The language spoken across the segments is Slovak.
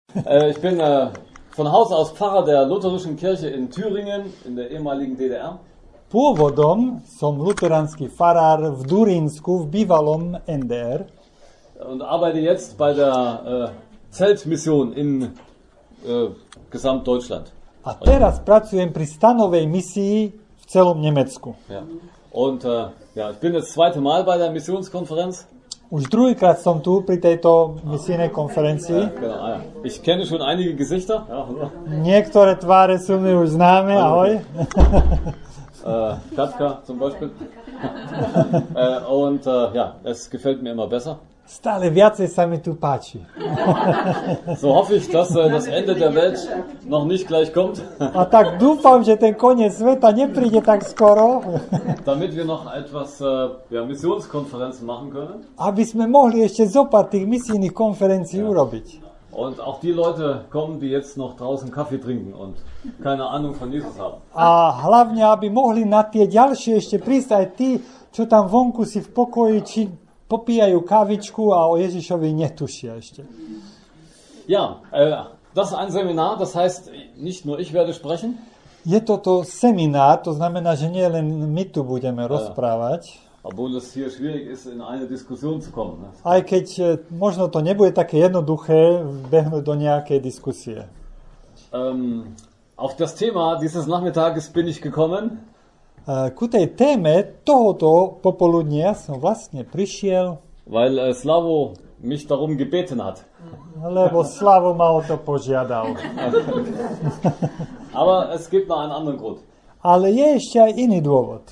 Ich bin von Haus aus Pfarrer der Lutherischen Kirche in Thüringen, in der ehemaligen DDR. Pôvodom som luteránsky farár v Durínsku, v bývalom NDR. Und arbeite jetzt bei der Zeltmission in Gesamtdeutschland. A teraz pracujem pri stanovej misii v celom Nemecku. Ja. Und ich bin das zweite Mal bei der Missionskonferenz. Už druhýkrát som tu pri tejto misijnej konferencii. Genau, ja. Ich kenne schon einige Gesichter. Ja. Niektoré tváre sú mi už známe, ahoj. Katka zum Beispiel. Und es gefällt mir immer besser. Stále viacej sa mi tu páči. So hoffe ich, dass das Ende der Welt noch nicht gleich kommt. A tak dúfam, že ten koniec sveta nepríde tak skoro. Damit wir noch etwas Missionskonferenzen machen können. Aby sme mohli ešte zopár tých misijných konferencií urobiť. Und auch die Leute kommen, die jetzt noch draußen Kaffee trinken und keine Ahnung von Jesus haben. A hlavne, aby mohli na tie ďalšie ešte prísť aj tí, čo tam vonku si v pokoji či popíjajú kávičku a o Ježišovi netušia ešte. Ja, das ist ein Seminar, das heißt, nicht nur ich werde sprechen. Je toto seminár, to znamená, že nie len my tu budeme rozprávať. Obwohl es hier schwierig ist, in eine Diskussion zu kommen. Ne? Aj keď možno to nebude také jednoduché behnúť do nejakej diskusie. Auf das Thema dieses Nachmittages bin ich gekommen. Ku tej téme tohoto popoludnia som vlastne prišiel, weil Slavo mich darum gebeten hat. Lebo Slavo ma o to požiadal. Aber es gibt noch einen anderen Grund. Ale je ešte aj iný dôvod.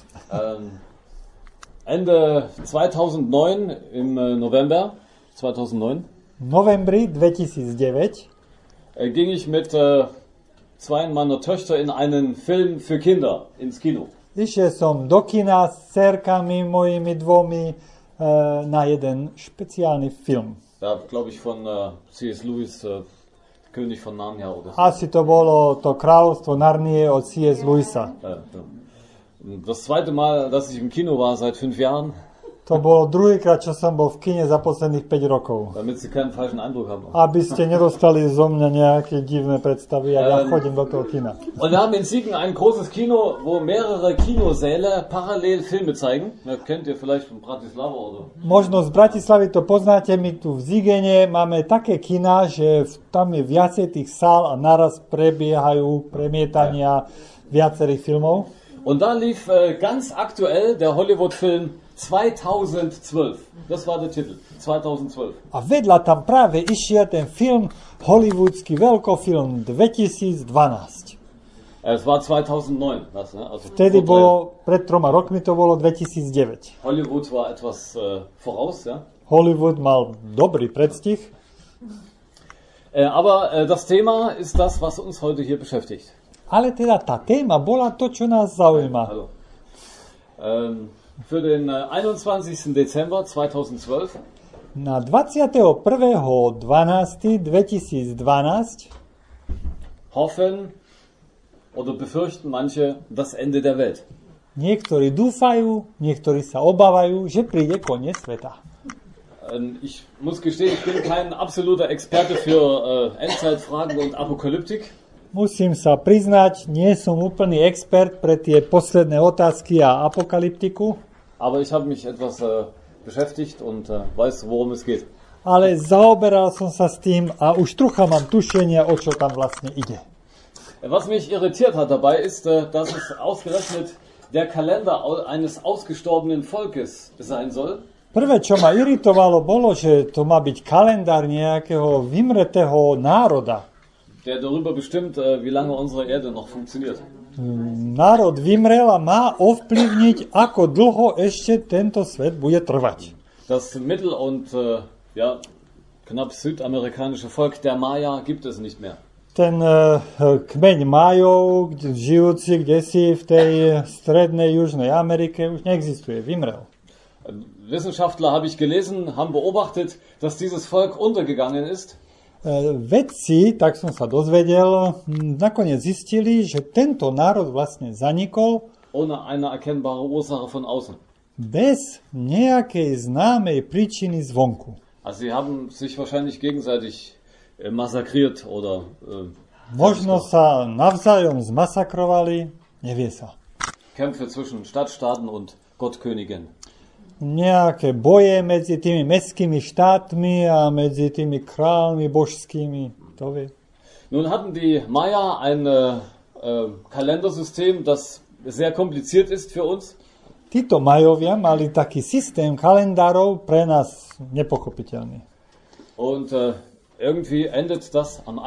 Ende 2009, im November 2009, novembri 2009 ging ich mit zwei meiner Töchter in einen Film für Kinder ins Kino. Išiel som do kina s dcerkami mojimi dvomi na jeden špeciálny film. Ja, glaube ich, von C.S. Lewis, König von Narnia. Oder so. Asi to bolo to Kráľovstvo Narnie od C.S. Lewisa. Das zweite Mal, dass ich im Kino war seit 5 Jahren. To bolo druhýkrát, čo som bol v kine za posledných 5 rokov. Damit Sie keinen falschen Eindruck haben. Aby ste nedostali zo mňa nejaké divné predstavy, ja chodím do toho kina. Und wir haben in Siegen ein großes Kino, wo mehrere Kinosäle parallel Filme zeigen. Das kennt ihr vielleicht von Bratislava oder? Možno z Bratislavy to poznáte, my tu v Zigene máme také kina, že tam je viacej tých sál a naraz prebiehajú premietania viacerých filmov. Und da lief ganz aktuell der Hollywood-Film 2012. Das war der Titel. 2012. A vedľa tam práve išiel ten film, hollywoodsky veľkofilm 2012. Es war 2009. Das, ne? Also vtedy bolo, pred 3 rokmi to bolo 2009. Hollywood war etwas voraus, ja? Hollywood mal dobrý predstih. Aber das Thema ist das, was uns heute hier beschäftigt. Ale teda tá téma bola to, čo nás zaujíma. Also, für den 21. Dezember 2012 na 21.12.2012 hoffen oder befürchten manche das Ende der Welt. Niektorí dúfajú, niektorí sa obávajú, že príde koniec sveta. Ich muss gestehen, ich bin kein absoluter Experte für Endzeitfragen und Apokalyptik. Musím sa priznať, nie som úplný expert pre tie posledné otázky a apokalyptiku. Aber ich habe mich etwas beschäftigt und weiß, worum es geht. Ale zaoberal som sa s tým a už trocha mám tušenia, o čo tam vlastne ide. Was mich irritiert hat dabei ist, dass es ausgerechnet der Kalender eines ausgestorbenen Volkes sein soll. Prvé, čo ma iritovalo, bolo, že to má byť kalendár nejakého vymretého národa. Der darüber bestimmt, wie lange unsere Erde noch funktioniert. Národ vymrel a má ovplyvniť, ako dlho ešte tento svet bude trvať. Das mittel- und knapp südamerikanische Volk der Maya gibt es nicht mehr. Ten kmeň Majov, žijúci kdesi v tej strednej Južnej Amerike, už neexistuje, vymrel. Wissenschaftler, habe ich gelesen, haben beobachtet, dass dieses Volk untergegangen ist. Vedci, tak som sa dozvedel, nakoniec zistili, že tento národ vlastne zanikol ohne eine erkennbare Ursache von außen. Bez nejakej známej príčiny zvonku. Also sie haben sich wahrscheinlich gegenseitig massakriert oder Možno sa navzájom zmasakrovali, nevie sa. Kämpfe zwischen Stadtstaaten und Gottkönigen. Nejaké boje medzi tými mestskými štátmi a medzi tými kráľmi božskými, to vie. Nun hatten die Maya ein Kalendersystem, das sehr kompliziert ist für uns. Títo Majovia mali taký systém kalendárov pre nás nepochopiteľný. Und irgendwie endet das am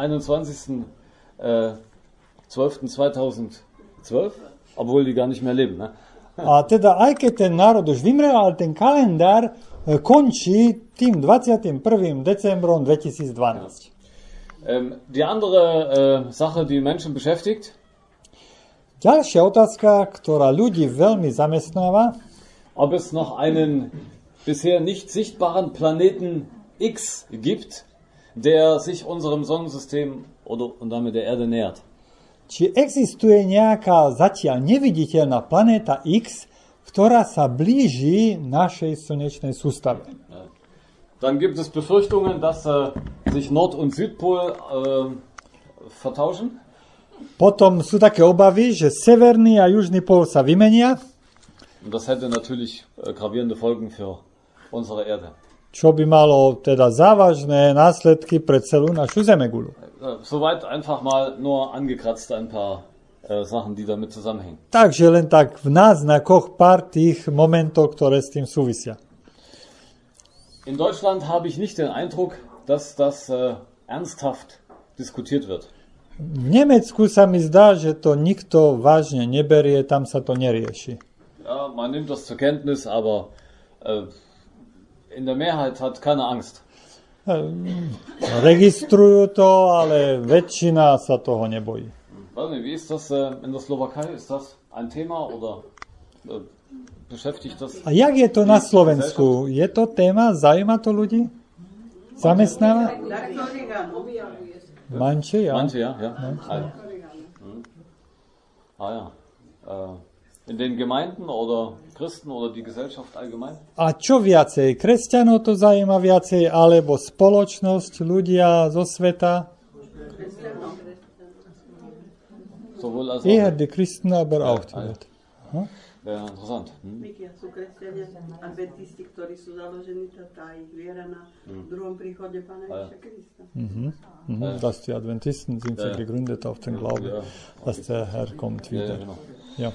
21.12.2012, obwohl die gar nicht mehr leben. Ne? A teda aj keď ten národ už vymrel, ale ten kalendár končí tým 21. decembrom 2012. Die andere Sache, die Menschen beschäftigt, ďalšia otázka, ktorá ľudí veľmi zamestnáva, ob es noch einen bisher nicht sichtbaren Planeten X gibt, der sich unserem Sonnensystem oder und damit der Erde nähert. Či existuje nejaká zatiaľ neviditeľná planéta X, ktorá sa blíži našej slnečnej sústave. Dann gibt es Befürchtungen, dass sich Nord- und Südpol vertauschen. Potom sú také obavy, že severný a južný pol sa vymenia. Und das hätte natürlich gravierende Folgen für unsere Erde. Čo by malo teda závažné následky pre celú našu zemeguľu. Soweit einfach mal nur angekratzt ein paar Sachen, die damit zusammenhängen. Takže len tak v náznakoch pár tých momentov, ktoré s tým súvisia. In Deutschland habe ich nicht den Eindruck, dass das ernsthaft diskutiert wird. V Nemecku sa mi zdá, že to nikto vážne neberie, tam sa to nerieši. Ja, man nimmt das zur Kenntnis, aber in der Mehrheit hat keine Angst. Registrujú to, ale väčšina sa toho nebojí. Wie ist das in der Slowakei? Ist das ein Thema oder beschäftigt das? A jak je to na Slovensku? Je to téma? Zaujíma to ľudí? Zamestnáva? Manche, ja. Manche, ja. Ja. In den Gemeinden oder Christen oder die Gesellschaft allgemein? A čo viacej? Kresťanov to zaujíma viacej, alebo spoločnosť, ľudia zo sveta? Sowohl als Eher die Christen, aber auch die Welt. Ja, interessant. Sú kresťania adventisti, ktorí sú založení, tá ich viera na druhom príchode Pána Ježiša Krista. Dass die Adventisten sind ja gegründet auf den Glauben, dass der Herr kommt wieder. Ja.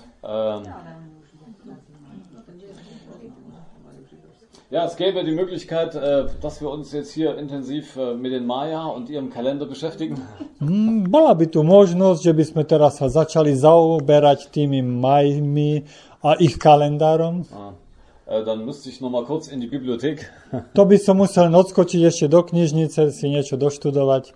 Ja, es gäbe die Möglichkeit, dass wir uns jetzt hier intensiv mit den Maya und ihrem Kalender beschäftigen. Bola by tu možnosť, že by sme teraz sa začali zaoberať tými Majmi a ich kalendárom. Dann müsste ich noch mal kurz in die Bibliothek. To by som musel odskočiť ešte do knižnice, si niečo doštudovať.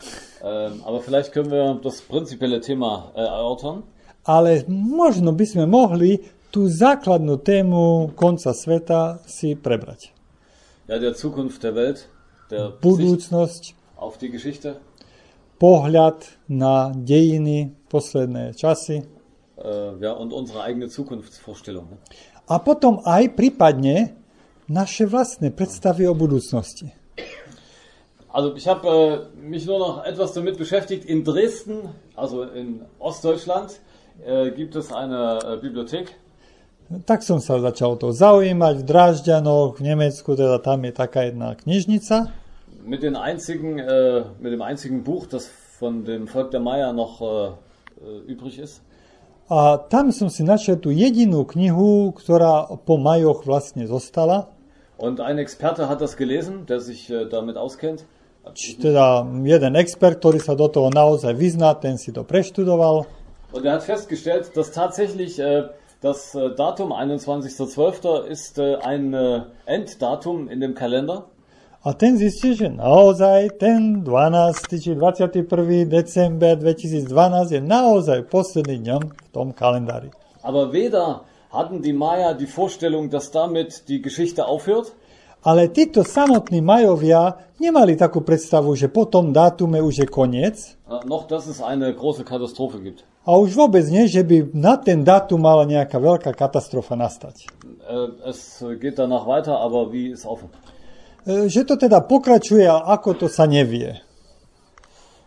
Aber vielleicht können wir das prinzipielle Thema erörtern. Ale možno by sme mohli tú základnú tému konca sveta si prebrať. Ja, der Zukunft der Welt, der budúcnosť, auf die Geschichte, pohľad na dejiny, posledné časy. Ja, und unsere eigene Zukunftsvorstellung. Ne? A potom aj prípadne naše vlastné predstavy o budúcnosti. Also ich habe mich nur noch etwas damit beschäftigt. In Dresden, also in Ostdeutschland, gibt es eine Bibliothek. Tak som sa začal to zaujímať v Drážďanoch, v Nemecku, teda tam je taká jedna knižnica. Mit dem einzigen Buch, das von dem Volk der Maya noch übrig ist. A tam som si našiel tú jedinú knihu, ktorá po Majoch vlastne zostala. Und ein Experte hat das gelesen, der sich damit auskennt. Teda jeden expert, ktorý sa do toho naozaj vyzná, ten si to preštudoval. Und er hat festgestellt, dass tatsächlich das Datum 21.12. ist ein Enddatum in dem Kalender. A ten zistil, že naozaj ten 12. či 21. december 2012 je naozaj posledný dňom v tom kalendári. Aber weder hatten die Maya die Vorstellung, dass damit die Geschichte aufhört. Ale títo samotní Majovia nemali takú predstavu, že po tom dátume už je koniec. Noch, dass es eine große Katastrophe gibt. A už vôbec nie, že by na ten dátum mala nejaká veľká katastrofa nastať. Es geht danach weiter, aber wie ist offen. Že to teda pokračuje, a ako to sa nevie.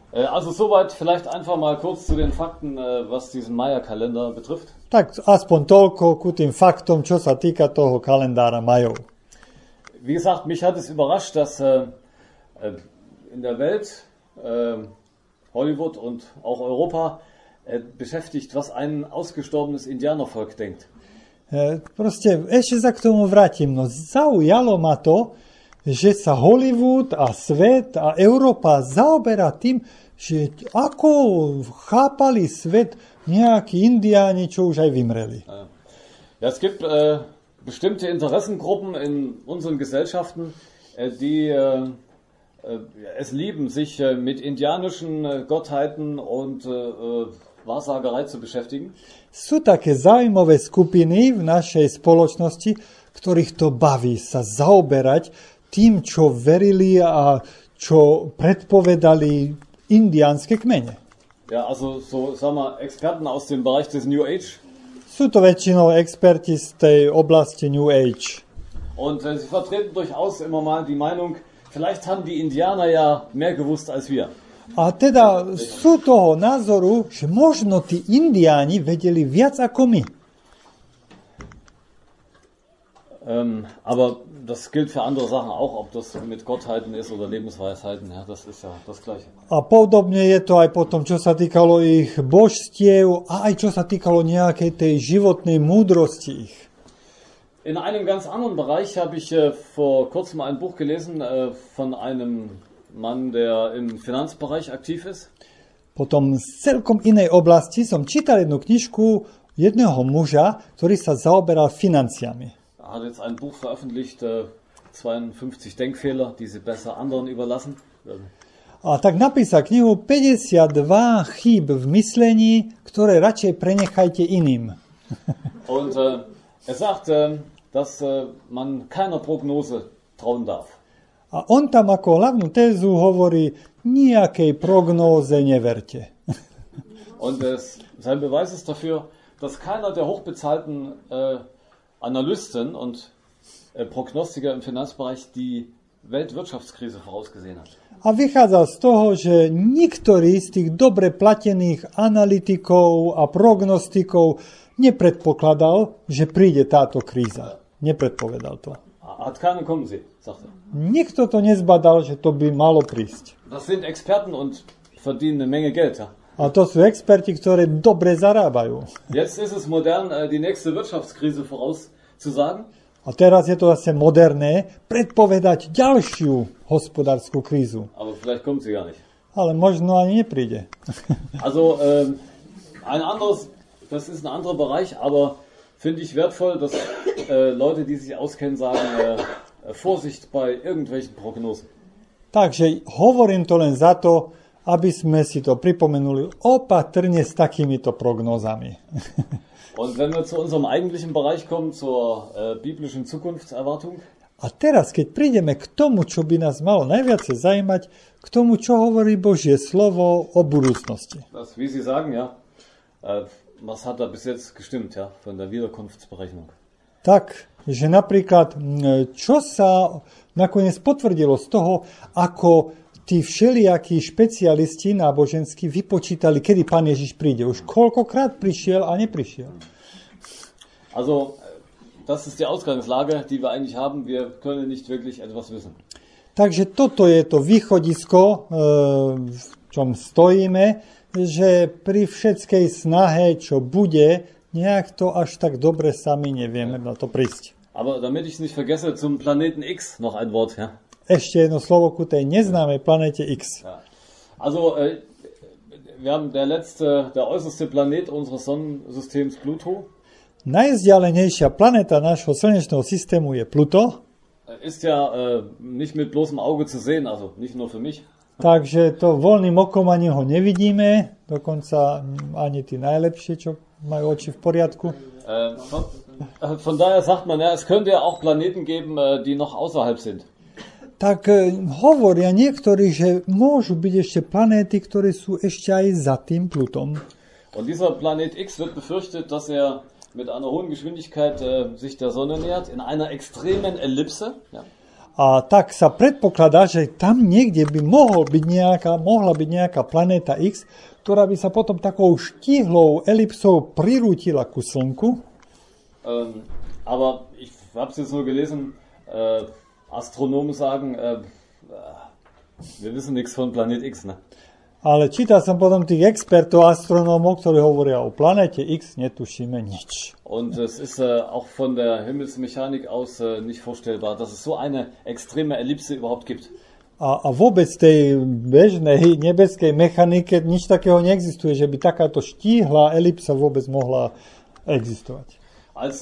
Also soweit vielleicht einfach mal kurz zu den Fakten, was diesen Maya-Kalender betrifft. Tak aspoň toľko ku tým faktom, čo sa týka toho kalendára Majov. Wie gesagt, mich hat es überrascht, dass in der Welt Hollywood und auch Europa beschäftigt, was ein ausgestorbenes Indianervolk denkt. Proste ešte sa k tomu vrátim. No zaujalo ma to, že sa Hollywood a svet a Európa zaoberá tým, že ako chápali svet nejakí indiáni, čo už aj vymreli. Ja, es gibt bestimmte Interessengruppen in unseren Gesellschaften, die es lieben, sich mit indianischen Gottheiten und Wahrsagerei zu beschäftigen. Sú také zaujímavé skupiny v našej spoločnosti, ktorých to baví sa zaoberať tým, čo verili a čo predpovedali indiánske kmene. Ja, also so, sagen wir, Experten aus dem Bereich des New Age. Sú to väčšinou experti z tej oblasti New Age. Und sie vertreten durchaus immer mal die Meinung, vielleicht haben die Indianer ja mehr gewusst als wir. A teda sú toho názoru, že možno tí indiáni vedeli viac ako my. Aber das gilt für andere Sachen auch, ob das mit Gottheiten ist oder Lebensweisheiten, ja, das ist ja das Gleiche. A podobne je to aj potom, čo sa týkalo ich božstiev a aj čo sa týkalo nejakej tej životnej múdrosti ich. In einem ganz anderen Bereich habe ich vor kurzem ein Buch gelesen von einem Mann, der im Finanzbereich aktiv ist. Potom z celkom inej oblasti som čítal jednu knižku jedného muža, ktorý sa zaoberal financiami. Er hat jetzt ein Buch veröffentlicht, 52 Denkfehler, die Sie besser anderen überlassen. A tak napísal knihu 52 chýb v myslení, ktoré radšej prenechajte iným. Und er sagt, dass man keiner Prognose trauen darf. A on tam ako hlavnú tézu hovorí, nejakej prognóze neverte. Und sein Beweis ist dafür, dass keiner der hochbezahlten Analysten und Prognostiker im Finanzbereich die Weltwirtschaftskrise vorausgesehen hat. A vychádzal z toho, že niektorý z tých dobre platených analytikov a prognostikov nepredpokladal, že príde táto kríza. Nepredpovedal to. Hat keiner kommen sehen, sagt er. Nikto to nezbadal, že to by malo prísť. Das sind Experten und verdienen eine Menge Geld. Ja? A to sú experti, ktorí dobre zarábajú. Jetzt ist es modern, die nächste Wirtschaftskrise vorauszusagen. A teraz je to zase moderné predpovedať ďalšiu hospodárskú krízu. Aber vielleicht kommt sie gar nicht. Ale možno ani nepríde. Also ein anderes, das ist ein anderer Bereich, aber finde ich wertvoll, dass Leute, die sich auskennen, sagen, Vorsicht bei irgendwelchen Prognosen. Takže hovorím to len za to, aby sme si to pripomenuli opatrne s takýmito prognózami. Und wenn wir zu unserem eigentlichen Bereich kommen, zur biblischen Zukunftserwartung. A teraz, keď prídeme k tomu, čo by nás malo najviac zaujímať, k tomu, čo hovorí Božie slovo o budúcnosti. Das, wie Sie sagen, ja, was hat da bis jetzt gestimmt, ja, von der Wiederkunftsberechnung? Tak, že napríklad, čo sa nakoniec potvrdilo z toho, ako tí všelijakí špecialisti náboženskí vypočítali, kedy Pán Ježiš príde. Už koľkokrát prišiel a neprišiel. Also, das ist die Ausgangslage, die wir eigentlich haben. Wir können nicht wirklich etwas wissen. Takže toto je to východisko, v čom stojíme, že pri všetkej snahe, čo bude, nejak to až tak dobre sami nevieme na to prísť. Aber damit ich es nicht vergesse, zum Planeten X noch ein Wort, ja? Ešte jedno slovo ku tej neznámej planete X. Ja. Also, wir haben der äußerste Planet unseres Sonnensystems Pluto. Najvzdialenejšia planéta nášho slnečného systému je Pluto. Ist ja nicht mit bloßem Auge zu sehen, also nicht nur für mich. Takže to voľným okom ani ho nevidíme, dokonca ani tí najlepšie, čo majú oči v poriadku. Von daher sagt man, ja, es könnte ja auch Planeten geben, die noch außerhalb sind. Tak hovoria niektorí, že môžu byť ešte planéty, ktoré sú ešte aj za tým Plutom. Und dieser Planet X wird befürchtet, dass er mit einer hohen Geschwindigkeit sich der Sonne nähert, in einer extremen Ellipse. Ja. A tak sa predpokladá, že tam niekde by mohla byť nejaká planéta X, ktorá by sa potom takou štíhlou elipsou prirútila ku Slnku. Aber ich habe es jetzt nur gelesen, Astronomen sagen, wir wissen nichts von Planet X, ne? Ale čítal som potom tých expertov, astronómov, ktorí hovoria o planéte X, netušíme nič. Und es ist auch von der Himmelsmechanik aus nicht vorstellbar, dass es so eine extreme Ellipse überhaupt gibt. A vôbec tej bežnej nebeskej mechanike nič takého neexistuje, že by takáto štíhla elipsa vôbec mohla existovať. Als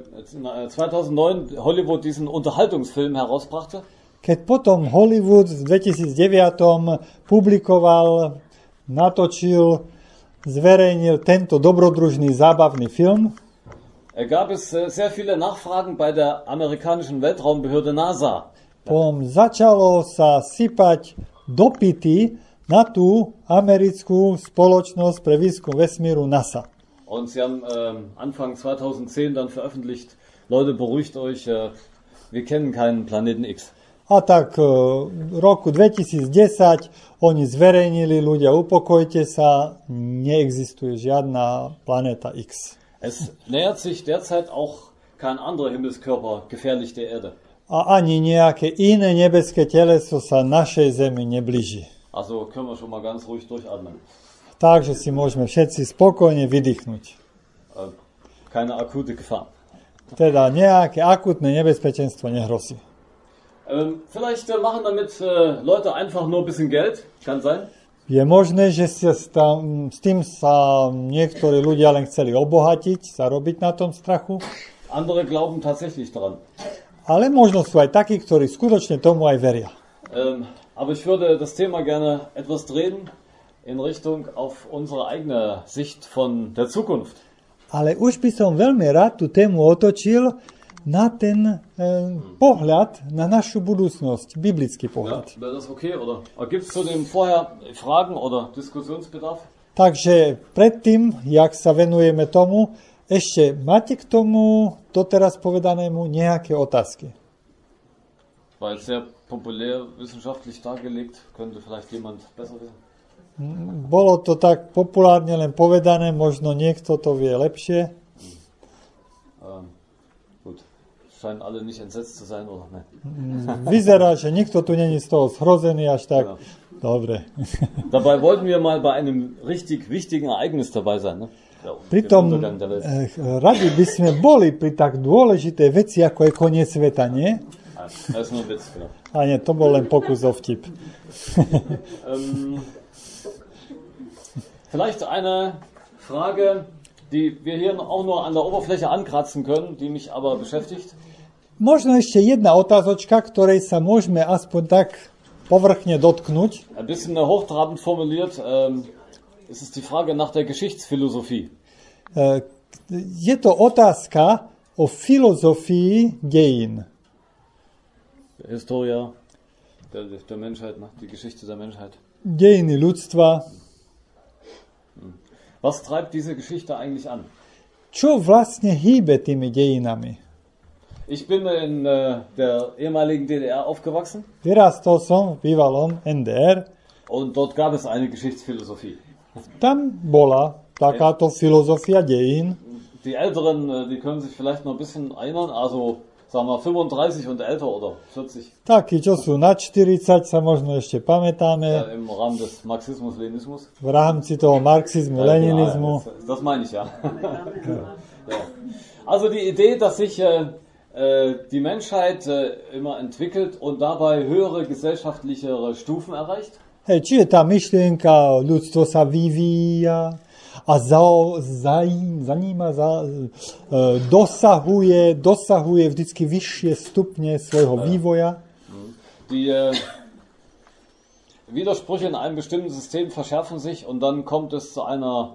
2009 Hollywood diesen Unterhaltungsfilm herausbrachte, keď potom Hollywood v 2009 publikoval, natočil, zverejnil tento dobrodružný zábavný film, gab es sehr viele Nachfragen bei der amerikanischen Weltraumbehörde NASA. Potom začalo sa sypať dopity na tú americkú spoločnosť pre výskum vesmíru NASA. Und sie haben Anfang 2010 dann veröffentlicht, Leute, beruhigt euch, wir kennen keinen Planeten X. A tak v roku 2010 oni zverejnili, ľudia, upokojte sa, neexistuje žiadna planéta X. Es nähert sich derzeit auch kein anderer Himmelskörper gefährlich der Erde. A ani nejaké iné nebeské teleso sa našej Zemi neblíži. Also können wir schon mal ganz ruhig durchatmen. Takže si môžeme všetci spokojne vydýchnuť. Keine akute Gefahr. Teda nejaké akutné nebezpečenstvo nehrozí. Vielleicht machen damit Leute einfach nur ein bisschen Geld, kann sein. Je možné, že s tým sa niektorí ľudia len chceli obohatiť, zarobiť na tom strachu. Andere glauben tatsächlich daran. Ale možno sú aj takí, ktorí skutočne tomu aj veria. Aber ich würde das Thema gerne etwas drehen in Richtung auf unsere eigene Sicht von der Zukunft. Ale už by som veľmi rád tú tému otočil na ten pohľad na našu budúcnosť, biblický pohľad. Ja, wäre das okay, oder? Gibt es zu dem vorher Fragen oder Diskussionsbedarf? Takže predtým, jak sa venujeme tomu, ešte máte k tomu doteraz povedanému nejaké otázky? Weil sehr populär wissenschaftlich dargelegt, könnte vielleicht jemand besser wissen. Bolo to tak populárne len povedané, možno niekto to vie lepšie. Gut, scheinen alle nicht entsetzt zu sein, oder ne? Vyzerá, že nikto tu není z toho zhrozený až tak. Ja. Dobre. Dabei wollten wir mal bei einem richtig wichtigen Ereignis dabei sein, ne? Pritom radi by sme boli pri tak dôležitej veci, ako je koniec sveta, nie? Das ist nur ein Witz, genau. A nie, to bol len pokus o vtip. Vielleicht eine Frage, die wir hier auch nur an der Oberfläche ankratzen können, die mich aber beschäftigt. Možno ešte jedna otázočka, ktorej sa môžeme aspoň tak povrchne dotknúť. Ein bisschen hochtrabend formuliert, ist es die Frage nach der Geschichtsphilosophie. Je to otázka o filozofii dejín. Historia der Menschheit, die Geschichte der Menschheit. Dejiny ľudstva. Was treibt diese Geschichte eigentlich an? Čo vlastne hýbe tými dejinami? Ich bin in der ehemaligen DDR aufgewachsen. Vyrastol som v bývalom NDR. Und dort gab es eine Geschichtsphilosophie. Tam bola takáto filozofia dejín. Die Älteren, die können sich vielleicht noch ein bisschen erinnern, also sagen wir 35 und älter oder 40. Takí, čo sú na 40, sa možno ešte pamätáme. Im Rahmen des Marxismus-Leninismus. V rámci toho marxizmu, leninizmu. Das meine ich, ja. Ja. Also die Idee, dass sich die Menschheit immer entwickelt und dabei höhere gesellschaftlichere Stufen erreicht. Hej, či je tá myšlienka, ľudstvo sa vyvíja a dosahuje vždycky vyššie stupne svojho vývoja. Die Widersprüche in einem bestimmten System verschärfen sich und dann kommt es zu einem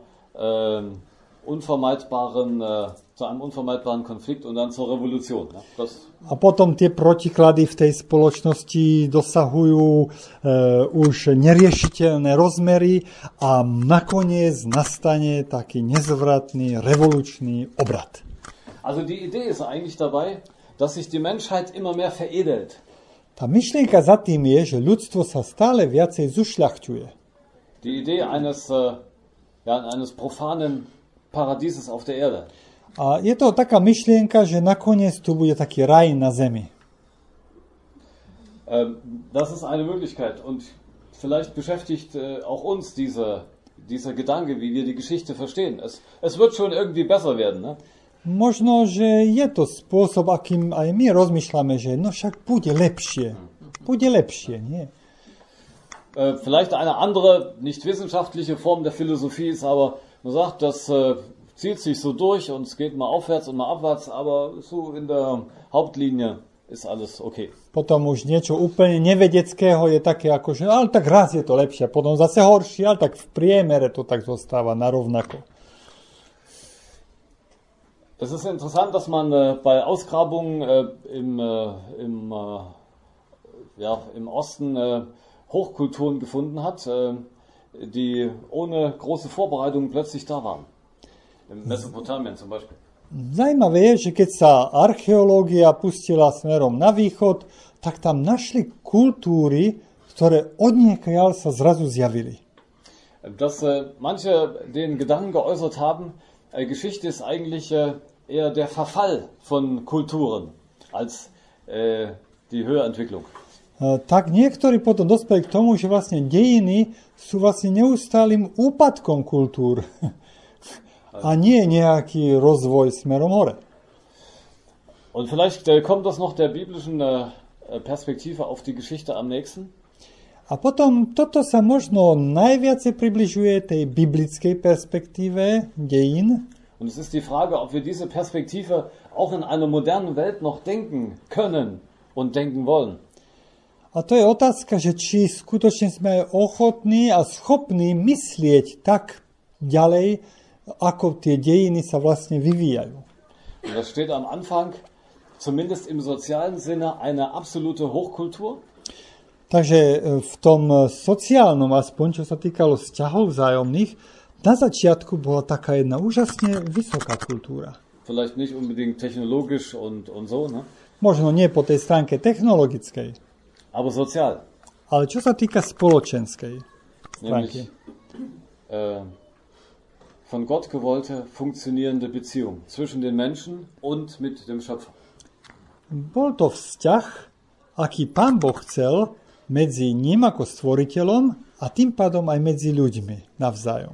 unvermeidbaren Konflikt und dann zur Revolution. A potom tie protiklady v tej spoločnosti dosahujú už neriešiteľné rozmery a nakoniec nastane taký nezvratný revolučný obrat. Also die Idee ist eigentlich dabei, dass sich die Menschheit immer mehr veredelt. Tá myšlienka za tým je, že ľudstvo sa stále viacej zušľachťuje. Die Idee eines profanen Paradieses auf der Erde. A je to taká myšlienka, že nakoniec tu bude taký raj na zemi. Das ist eine Möglichkeit und vielleicht beschäftigt auch uns dieser Gedanke, wie wir die Geschichte verstehen. Es wird schon irgendwie besser werden, ne? Možno, že je to spôsob, akým aj my rozmýšľame, že no však bude lepšie. Bude lepšie, nie? Vielleicht eine andere, nicht wissenschaftliche Form der Philosophie ist, aber man sagt, das zieht sich so durch und es geht mal aufwärts und mal abwärts, aber so in der Hauptlinie ist alles okay. Potom už niečo úplne nevedeckého je také ako, že ale tak raz je to lepšie, potom zase horšie, ale tak v priemere to tak zostáva na rovnako. Es ist interessant, dass man bei Ausgrabungen im Osten Hochkulturen gefunden hat, die ohne große Vorbereitung plötzlich da waren. In Mesopotamien zum Beispiel. Zajímavé je, že keď sa archeológia pustila smerom na východ, tak tam našli kultúry, ktoré odniekiaľ sa zrazu zjavili. Dass manche den Gedanken geäußert haben, Geschichte ist eigentlich eher der Verfall von Kulturen als die Höherentwicklung. Tak niektorí potom dospeli k tomu, že vlastne dejiny sú vlastne neustálým úpadkom kultúr a nie nejaký rozvoj smerom hore. Und vielleicht kommt das noch der biblischen Perspektive auf die Geschichte am nächsten. A potom toto sa možno najviac približuje tej biblickej perspektíve dejín. Und es ist die Frage, ob wir diese Perspektive auch in einer modernen Welt noch denken können und denken wollen. A to je otázka, že či skutočne sme ochotní a schopní myslieť tak ďalej, ako tie dejiny sa vlastne vyvíjajú. Und das steht am Anfang, zumindest im sozialen Sinne, eine absolute Hochkultur. Takže v tom sociálnom, aspoň čo sa týkalo vzťahov vzájomných, na začiatku bola taká jedna úžasne vysoká kultúra. Vielleicht nicht unbedingt technologisch und so, ne? Možno nie po tej stránke technologickej, Aber sozial. ale čo sa týka spoločenskej stránky. Nämlich von Gott gewollte, funktionierende Beziehung zwischen den Menschen und mit dem Schöpfer. Bol to vzťah, aký Pán Boh chcel medzi ním ako stvoriteľom a tým pádom aj medzi ľuďmi navzájom.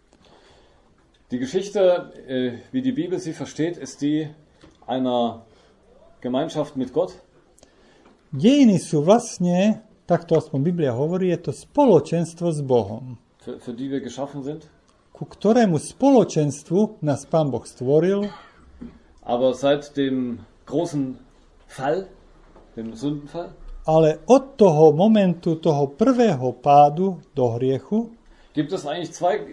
Die Geschichte, wie die Bibel sie versteht, ist die einer Gemeinschaft mit Gott. Dejiny sú vlastne, takto aspoň Biblia hovorí, je to spoločenstvo s Bohom, Für die wir geschaffen sind. ku ktorému spoločenstvu nás Pán Boh stvoril, Aber seit dem großen Fall, dem Sündenfall, ale od toho momentu, toho prvého pádu do hriechu, gibt es eigentlich zwei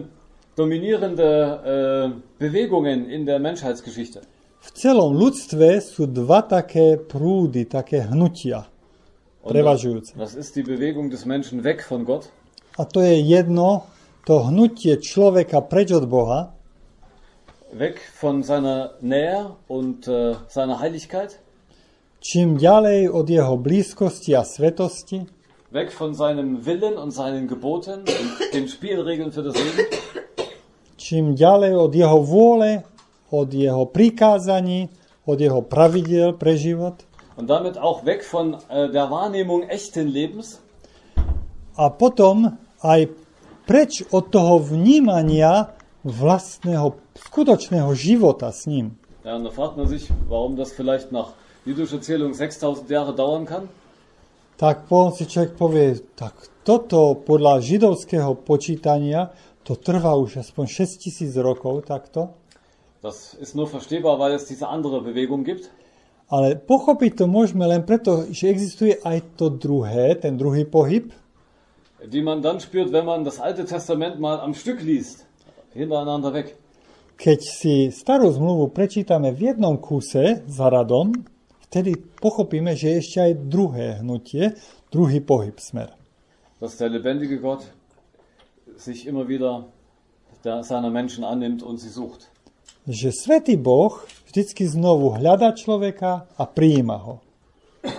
dominierende Bewegungen in der Menschheitsgeschichte. v celom ľudstve sú dva také prúdy, také hnutia prevažujúce. Das ist die Bewegung des Menschen weg von Gott. A to je jedno, to hnutie človeka preč od Boha, Weg von seiner Nähe und seiner Heiligkeit. čím ďalej od jeho blízkosti a svetosti, Weg von seinem Willen und seinen Geboten und den Spielregeln für das Leben. čím ďalej od jeho vôle, od jeho prikázaní, od jeho pravidiel pre život Und damit auch weg von der Wahrnehmung echten Lebens. a potom aj preč od toho vnímania vlastného, skutočného života s ním. Ja, und da fragt man sich, warum das vielleicht nach jüdischer Zählung 6000 Jahre dauern kann. Tak potom si človek povie, tak toto podľa židovského počítania to trvá už aspoň 6000 rokov takto. Das ist nur verstehbar, weil es diese andere Bewegung gibt. Ale pochopiť to môžeme len preto, že existuje aj to druhé, ten druhý pohyb, Die man dann spürt, wenn man das Alte Testament mal am Stück liest, hintereinander weg. keď si starú zmluvu prečítame v jednom kúse za radom, vtedy pochopíme, že je ešte aj druhé hnutie, druhý pohyb smer. Dass der lebendige Gott sich immer wieder seiner Menschen annimmt und sie sucht. Že svätý Boh vždycky znovu hľadá človeka a prijíma ho.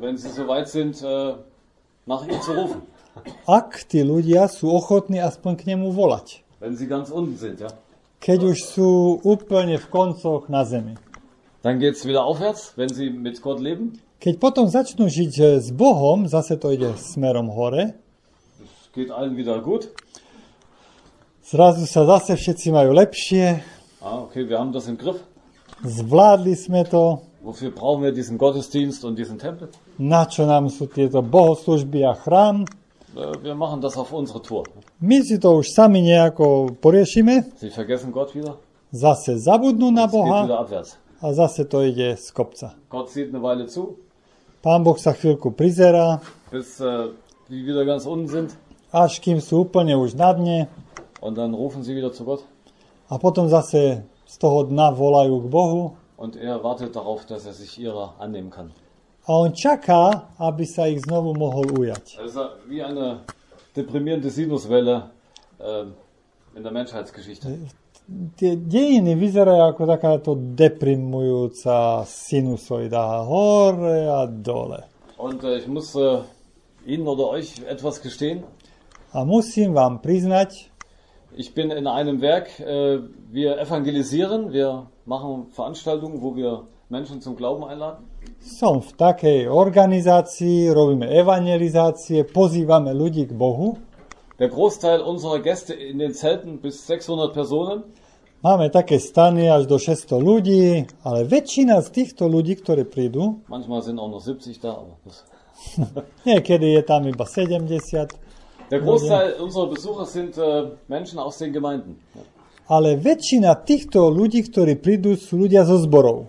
wenn sie so weit sind, nach ihm zu rufen. Ak tí ľudia sú ochotní aspoň k nemu volať. Wenn sie ganz unten sind, ja. Keď už sú úplne v koncoch na zemi. Dann geht es wieder aufwärts, wenn sie mit Gott leben. Keď potom začnú žiť s Bohom, zase to ide smerom hore. Es geht allen wieder gut. Zrazu sa zase všetci majú lepšie. Okay, wir haben das im Griff. Zvládli sme to. Wofür brauchen wir diesen Gottesdienst und diesen Tempel? Na čo nám sú tieto bohoslúžby a chrám? Wir machen das auf unsere Tour. My si to už sami nejako poriešime. Sie vergessen Gott wieder. Zase zabudnú na Es geht wieder Boha abwärts. a zase to ide z kopca. Gott sieht eine Weile zu, Pán Boh sa chvíľku prizerá, bis die wieder ganz unten sind. až kým sú úplne už na dne Und dann rufen sie wieder zu Gott. a potom zase z toho dna volajú k Bohu Und er wartet darauf, dass er sich ihrer annehmen kann. a on čaká, aby sa ich znovu mohol ujať. Das ist wie eine deprimierende Sinuswelle in der Menschheitsgeschichte. Tie dejiny vyzerajú ako takáto deprimujúca sinusoida hore a dole. Und ich muss Ihnen oder euch etwas gestehen. A musím vám priznať, Ich bin in einem Werk, wir evangelisieren, wir machen Veranstaltungen, wo wir Menschen zum Glauben einladen. som v takej organizácii, robíme evangelizácie, pozývame ľudí k Bohu. Der Großteil unserer Gäste in den Zelten, bis 600 Personen, Máme také stany až do 600 ľudí, ale väčšina z týchto ľudí, ktorí prídu, manchmal sind auch noch 70 da, aber das niekedy je tam iba 70, der Großteil unserer Besucher sind Menschen aus den Gemeinden. ale väčšina týchto ľudí, ktorí prídu, sú ľudia zo zborov.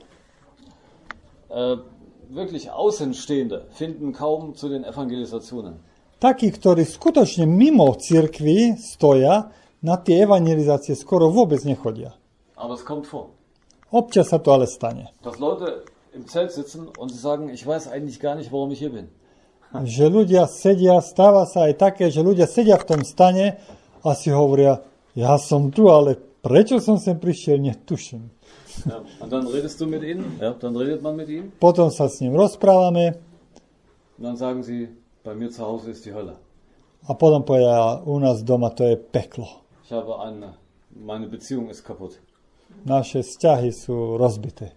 Wirklich Außenstehende finden kaum zu den Evangelisationen. Takí, ktorí skutočne mimo cirkvi stoja, na tie evangelizácie skoro vôbec nechodia. Aber es kommt vor, Občas sa to ale stane. dass Leute im Zelt sitzen und sie sagen, ich weiß eigentlich gar nicht, warum ich hier bin. Že ľudia sedia, stáva sa aj také, že ľudia sedia v tom stane a si hovoria, ja som tu, ale prečo som sem prišiel, netuším. Ja, und dann redest du mit ihnen, ja, dann redet man mit ihnen Potom sa s ním rozprávame und dann sagen sie, bei mir zu Hause ist die Hölle. a potom povedia, u nás doma to je peklo. Ich habe meine Beziehung ist kaputt. Naše vzťahy sú rozbité.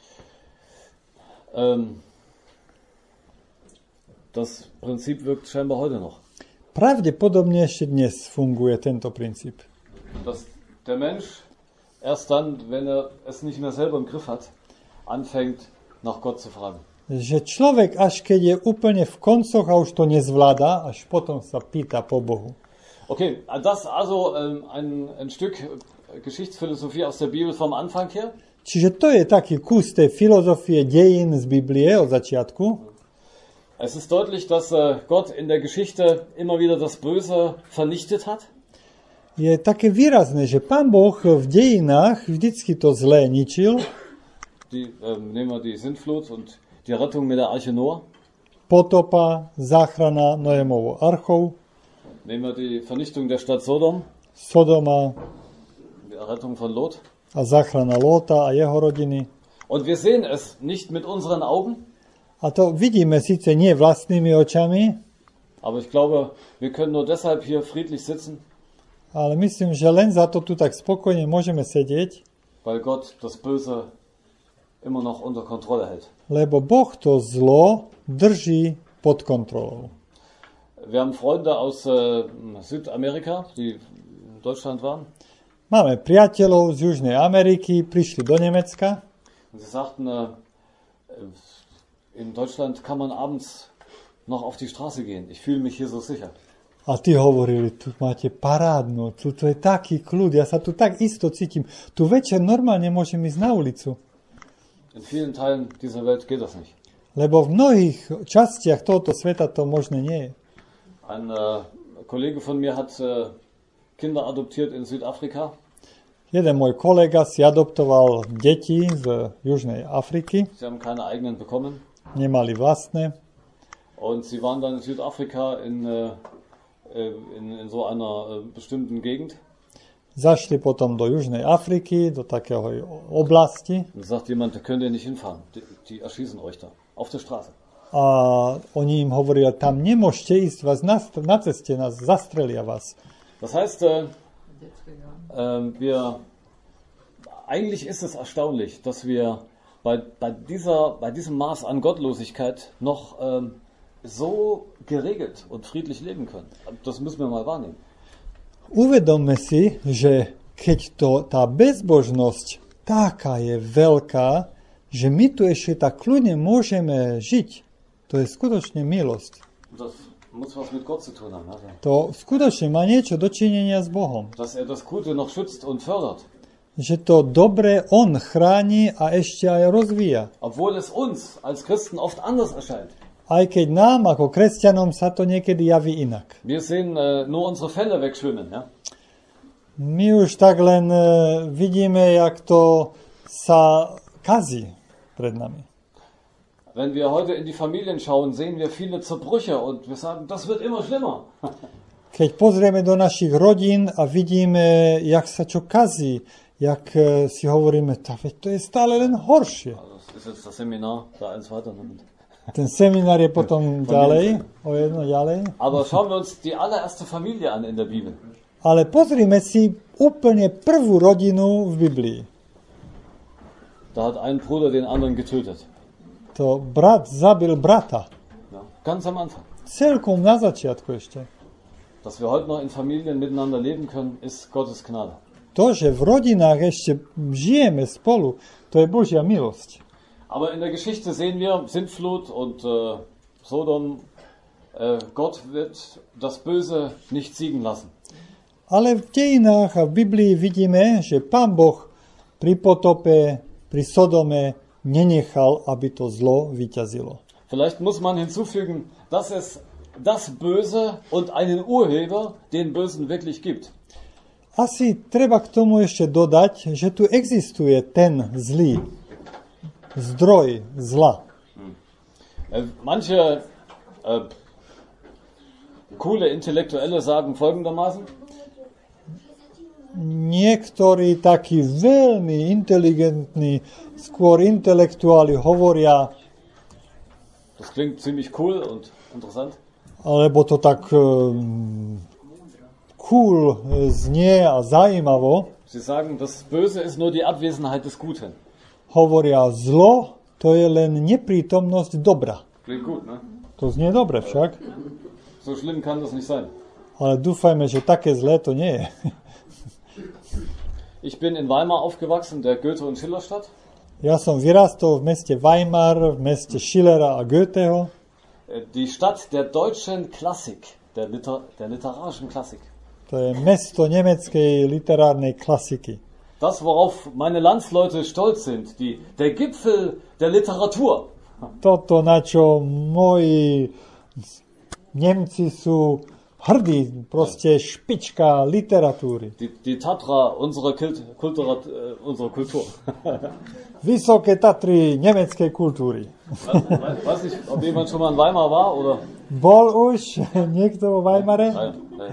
Das Prinzip wirkt scheinbar heute noch. Pravdepodobne ešte dnes funguje tento princíp. Dass der Mensch erst dann, wenn er es nicht mehr selber im Griff hat, anfängt, nach Gott zu fragen. Že človek, až keď je úplne v koncoch a už to nezvláda, až potom sa pýta po Bohu. Okay, das also ein Stück Geschichtsphilosophie aus der Bibel vom Anfang her. Čiže to je taký kus tej filozofie dejín z Biblie od začiatku. Es ist deutlich, dass Gott in der Geschichte immer wieder das Böse vernichtet hat. Je také výrazné, že Pán Boh v dejinách vždycky to zlé ničil. Nehmen wir die Sintflut und die Rettung mit der Arche Noah. Potopa, záchrana Noémovou archou, Nehmen wir die Vernichtung der Stadt Sodom, Sodoma die Rettung von Lot. a záchrana Lóta a jeho rodiny. Und wir sehen es nicht mit unseren Augen, A to vidíme síce nie vlastnými očami, aber ich glaube, wir können nur deshalb hier friedlich sitzen, ale myslím, že len za to tu tak spokojne môžeme sedieť, weil Gott das Böse immer noch unter Kontrolle hält. lebo Boh to zlo drží pod kontrolou. Wir haben Freunde aus Südamerika, die in Deutschland waren. Máme priateľov z Južnej Ameriky, prišli do Nemecka Und sie sagten, in Deutschland kann man abends noch auf die Straße gehen. Ich fühle mich hier so sicher. a tí hovorili, tu máte parádnu, tu je taký kľud, ja sa tu tak isto cítim. Tu večer normálne môžem ísť na ulicu. In vielen Teilen dieser Welt geht das nicht. Lebo v mnohých častiach tohoto sveta to možné nie je. Ein Kollege von mir hat Kinder adoptiert in Südafrika. Jeden môj kolega si adoptoval deti z Južnej Afriky, Sie haben keine eigenen bekommen. nemali vlastné. Und sie waren dann in Südafrika in so einer bestimmten Gegend. Zašli potom do Južnej Afriky, do takého oblasti. Und sagt jemand, da könnt ihr nicht hinfahren. Die erschießen euch da. Auf der Straße. a oni im hovorili, tam nemôžete ísť, vás na ceste nás zastrelia vás. Das heißt, eigentlich ist es erstaunlich, dass wir bei diesem Maß an Gottlosigkeit noch so geregelt und friedlich leben können. Das müssen wir mal wahrnehmen. Uvedomme si, že keď tá bezbožnosť taká je veľká, že my tu ešte tak kľudne môžeme žiť, to je skutočne milosť. Das muss was mit Gott zu tun haben. Also. To skutočne má niečo dočinenia s Bohom. Dass das Gute noch schützt und fördert. Že to dobre on chráni a ešte aj rozvíja. Obwohl es uns als Christen oft anders erscheint. Aj keď nám, ako kresťanom, sa to niekedy javí inak. Wir sehen nur unsere Felle wegschwimmen. Ja? My už tak len vidíme, jak to sa kazí pred nami. Wenn wir heute in die Familien schauen, sehen wir viele Zerbrüche und wir sagen, das wird immer schlimmer. Keď pozrieme do našich rodín a vidíme, jak sa čo kazí, jak si hovoríme, to je stále len horšie. Das ist jetzt das Seminar, da eins weiter. Ten seminár je potom ďalej, o jedno ďalej. Aber schauen wir uns die allererste Familie an in der Bibel. Ale pozrime si úplne prvú rodinu v Biblii. Da hat ein Bruder den anderen getötet. To brat zabil brata. Ja, ganz am Anfang. Celkom na začiatku ešte. Dass wir heute noch in Familien miteinander leben können, ist Gottes Gnade. To, že v rodinách ešte žijeme spolu, to je Božia milosť. Aber in der Geschichte sehen wir Sintflut und Sodom. Gott wird das Böse nicht siegen lassen. Ale v dejinách a v Biblii vidíme, že Pán Boh pri potope, pri Sodome nenechal, aby to zlo vyťazilo. Vielleicht muss man hinzufügen, dass es das Böse und einen Urheber, den Bösen, wirklich gibt. Asi treba k tomu ešte dodať, že tu existuje ten zlý zdroj zla. Manche coole Intellektuelle sagen folgendermaßen. Niektorí takí veľmi inteligentní, skôr intelektuáli hovoria, das klingt ziemlich cool und interessant. Alebo to tak cool znie a zaujímavo. Sie sagen, das Böse ist nur die Abwesenheit des Guten. Hovoria, zlo to je len neprítomnosť dobra. Klingt gut, ne? To znie dobre však. So schlimm kann das nicht sein. Ale dúfajme, že také zlé to nie je. Ich bin in Weimar aufgewachsen, der Goethe- und Schillerstadt. Ja som vyrastol v meste Weimar, v meste Schillera a Goetheho. Die Stadt der deutschen Klassik, der literarischen Klassik. To je mesto nemeckej literárnej klasiky. Das, worauf meine Landsleute stolz sind, der Gipfel der Literatur. Toto, na čo moji Nemci sú hrdí, proste špička literatúry. Die Tatra unserer Kultur. Vysoké Tatry nemeckej kultúry. Weiß nicht, ob jemand schon mal in Weimar war, oder? Bol už niekto vo Weimare? Nein.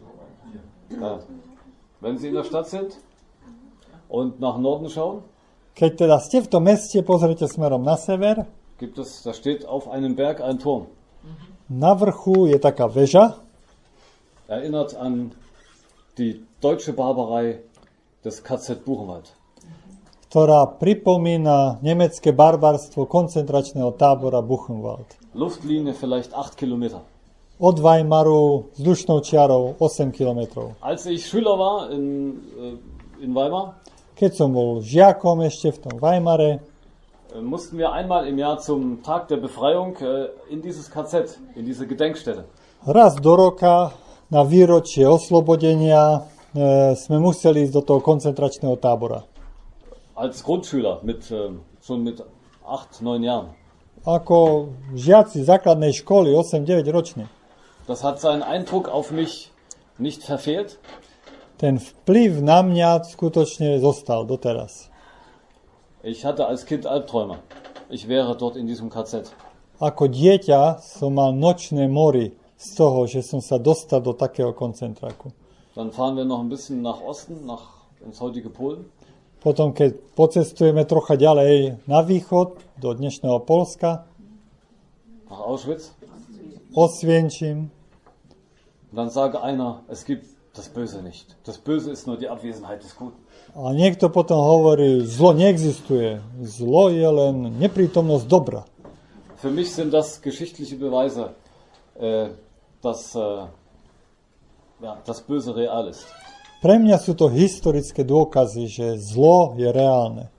Ja. Wenn Sie in der Stadt sind und nach Norden schauen, keď teda ste v tom meste, pozrite smerom na sever, da steht auf einem Berg ein Turm. Na vrchu je taká väža. Erinnert an die deutsche Barbarei des KZ Buchenwald. Ktorá pripomína nemecké barbarstvo koncentračného tábora Buchenwald. Luftlinie vielleicht 8 Kilometer. Od Weimaru vzdušnou čiarou 8 kilometrov. Als ich Schüler war in Weimar, keď som bol žiakom ešte v tom Weimare, mussten wir einmal im Jahr zum Tag der Befreiung in dieses KZ, in diese Gedenkstätte. Raz do roka na výročie oslobodenia sme museli ísť do toho koncentračného tábora. Als Grundschüler schon mit 8-9 Jahren. Ako žiaci základnej školy, 8-9 ročne. Das hat seinen Eindruck auf mich nicht verfehlt. Ten vplyv na mňa skutočne zostal doteraz. Ich hatte als Kind Albträume. Ich wäre dort in diesem KZ. Ako dieťa som mal nočné mory z toho, že som sa dostal do takého koncentráku. Dann fahren wir noch ein bisschen nach Osten, ins heutige Polen. Potom, keď pocestujeme trocha ďalej na východ, do dnešného Polska, nach Auschwitz. Osvienčim. Dann sage einer, es gibt das Böse nicht. Das Böse ist nur die Abwesenheit des Guten. A niekto potom hovorí, zlo neexistuje. Zlo je len neprítomnosť dobra. Für mich sind das geschichtliche Beweise, dass das Böse real ist. Pre mňa sú to historické dôkazy, že zlo je reálne.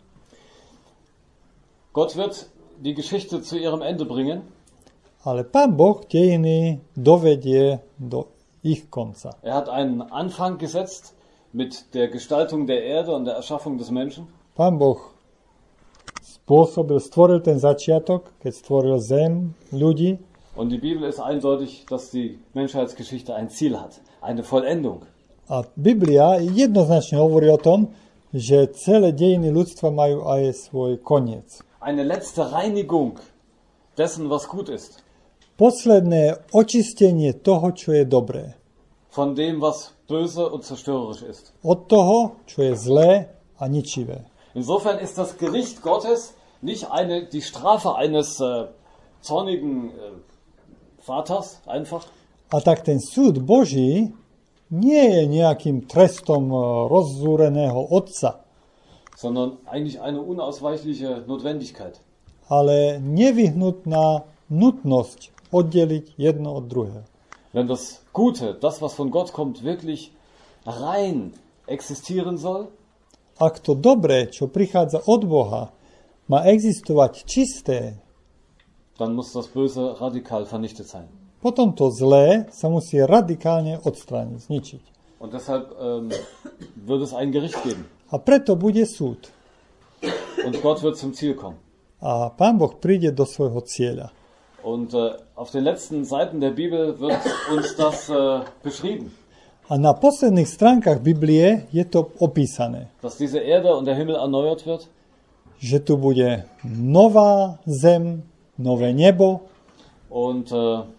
Gott wird die Geschichte zu ihrem Ende bringen. Ale Pán Boh dejiny dovedie do ich konca. Er hat einen Anfang gesetzt mit der Gestaltung der Erde und der Erschaffung des Menschen. Pán Boh stvoril ten začiatok, keď stvoril zem, ľudí. Und die Bibel ist eindeutig, dass die Menschheitsgeschichte ein Ziel hat, eine Vollendung. A Biblia jednoznačne hovorí o tom, že celé dejiny ľudstva majú aj svoj koniec. Eine letzte Reinigung dessen, was gut ist. Posledné očistenie toho, čo je dobré. Von dem, was böse und zerstörerisch ist. Od toho, čo je zlé a ničivé. Insofern ist das Gericht Gottes nicht die Strafe eines zornigen Vaters einfach. A tak ten súd Boží nie je nejakým trestom rozzúreného otca, sondern eigentlich eine unausweichliche Notwendigkeit. Ale nevyhnutná nutnosť oddeliť jedno od druhého. Wenn das Gute, das was von Gott kommt, wirklich rein existieren soll, ak to dobré, čo prichádza od Boha, má existovať čisté, dann muss das Böse radikal vernichtet sein. potom to zlé sa musí radikálne odstrániť, zničiť. Und deshalb wird es ein Gericht geben. A preto bude súd. Und Gott wird zum Ziel kommen. A Pán Boh príde do svojho cieľa. Und auf den letzten Seiten der Bibel wird uns das beschrieben. A na posledných stránkach Biblie je to opísané, Dass diese Erde und der Himmel erneuert wird. že tu bude nová zem, nové nebo Und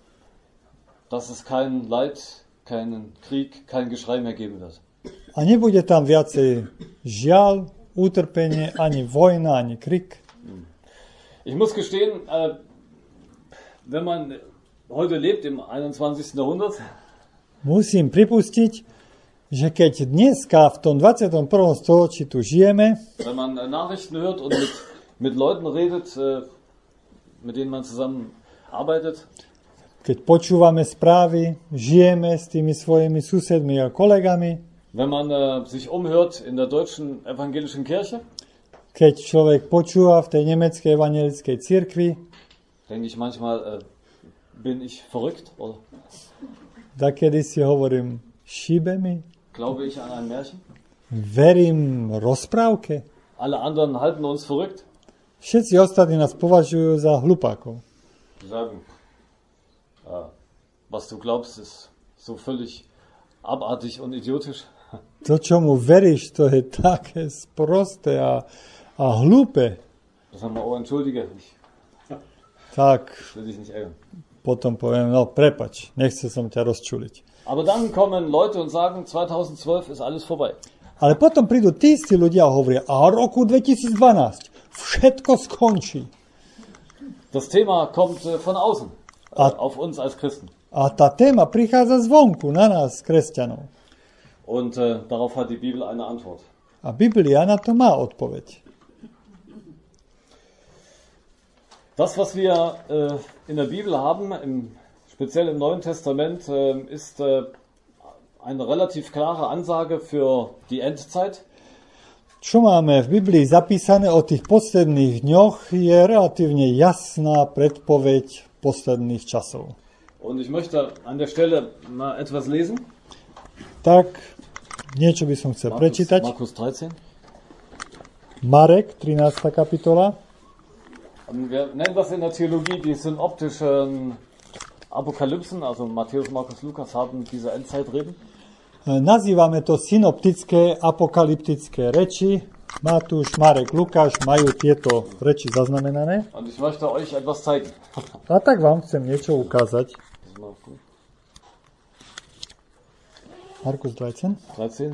dass es kein Leid, keinen Krieg, kein Geschrei mehr geben wird. a nebude tam viacej žiaľ, utrpenie, ani vojna, ani krik. Ich muss gestehen, wenn man heute lebt im 21. Jahrhundert, Musím pripustiť, že keď dneska v tom 21. storočí tu žijeme, wenn man Nachrichten hört und mit Leuten redet, mit denen man zusammen arbeitet, keď počúvame správy, žijeme s tými svojimi susedmi a kolegami, wenn man sich umhört in der deutschen evangelischen Kirche, keď človek počúva v tej nemeckej evangelickej cirkvi, denke ich manchmal, bin ich verrückt? Oder dakedy si hovorím, šíbe mi, glaube ich an ein Märchen? verím rozprávke. Alle anderen halten uns verrückt. Všetci ostatní nás považujú za hlupákov. Die sagen, was du glaubst, ist so völlig abartig und idiotisch. To, čomu veríš, to je také sprosté a hlúpe. Das haben wir, oh, entschuldige, ich Tak will dich nicht ärgern. potom poviem, no prepač, nechcel som ťa rozčuliť. Aber dann kommen Leute und sagen, 2012 ist alles vorbei. Ale potom prídu tí istí ľudia a hovoria, a roku 2012 všetko skončí. Das Thema kommt von außen, auf uns als Christen. A tá téma prichádza zvonku na nás, kresťanov. Und darauf hat die Bibel eine Antwort. A Biblia na to má odpoveď. Das, was wir in der Bibel haben, speziell im Neuen Testament, ist eine relativ klare Ansage für die Endzeit. Čo máme v Biblii zapísané o tých posledných dňoch, je relatívne jasná predpoveď posledných časov. Und ich möchte an der Stelle mal etwas lesen. Tak, niečo by som chcel prečítať. Markus 13. Marek, 13. kapitola. Wir nennen das in der Theologie die synoptischen Apokalypsen, also Matthäus, Markus, Lukas haben diese Endzeitreden. Nazývame to synoptické apokalyptické reči. Matúš, Marek, Lukáš majú tieto reči zaznamenané. Und ich möchte euch etwas zeigen. A tak vám chcem niečo ukázať. Markus 13. 13.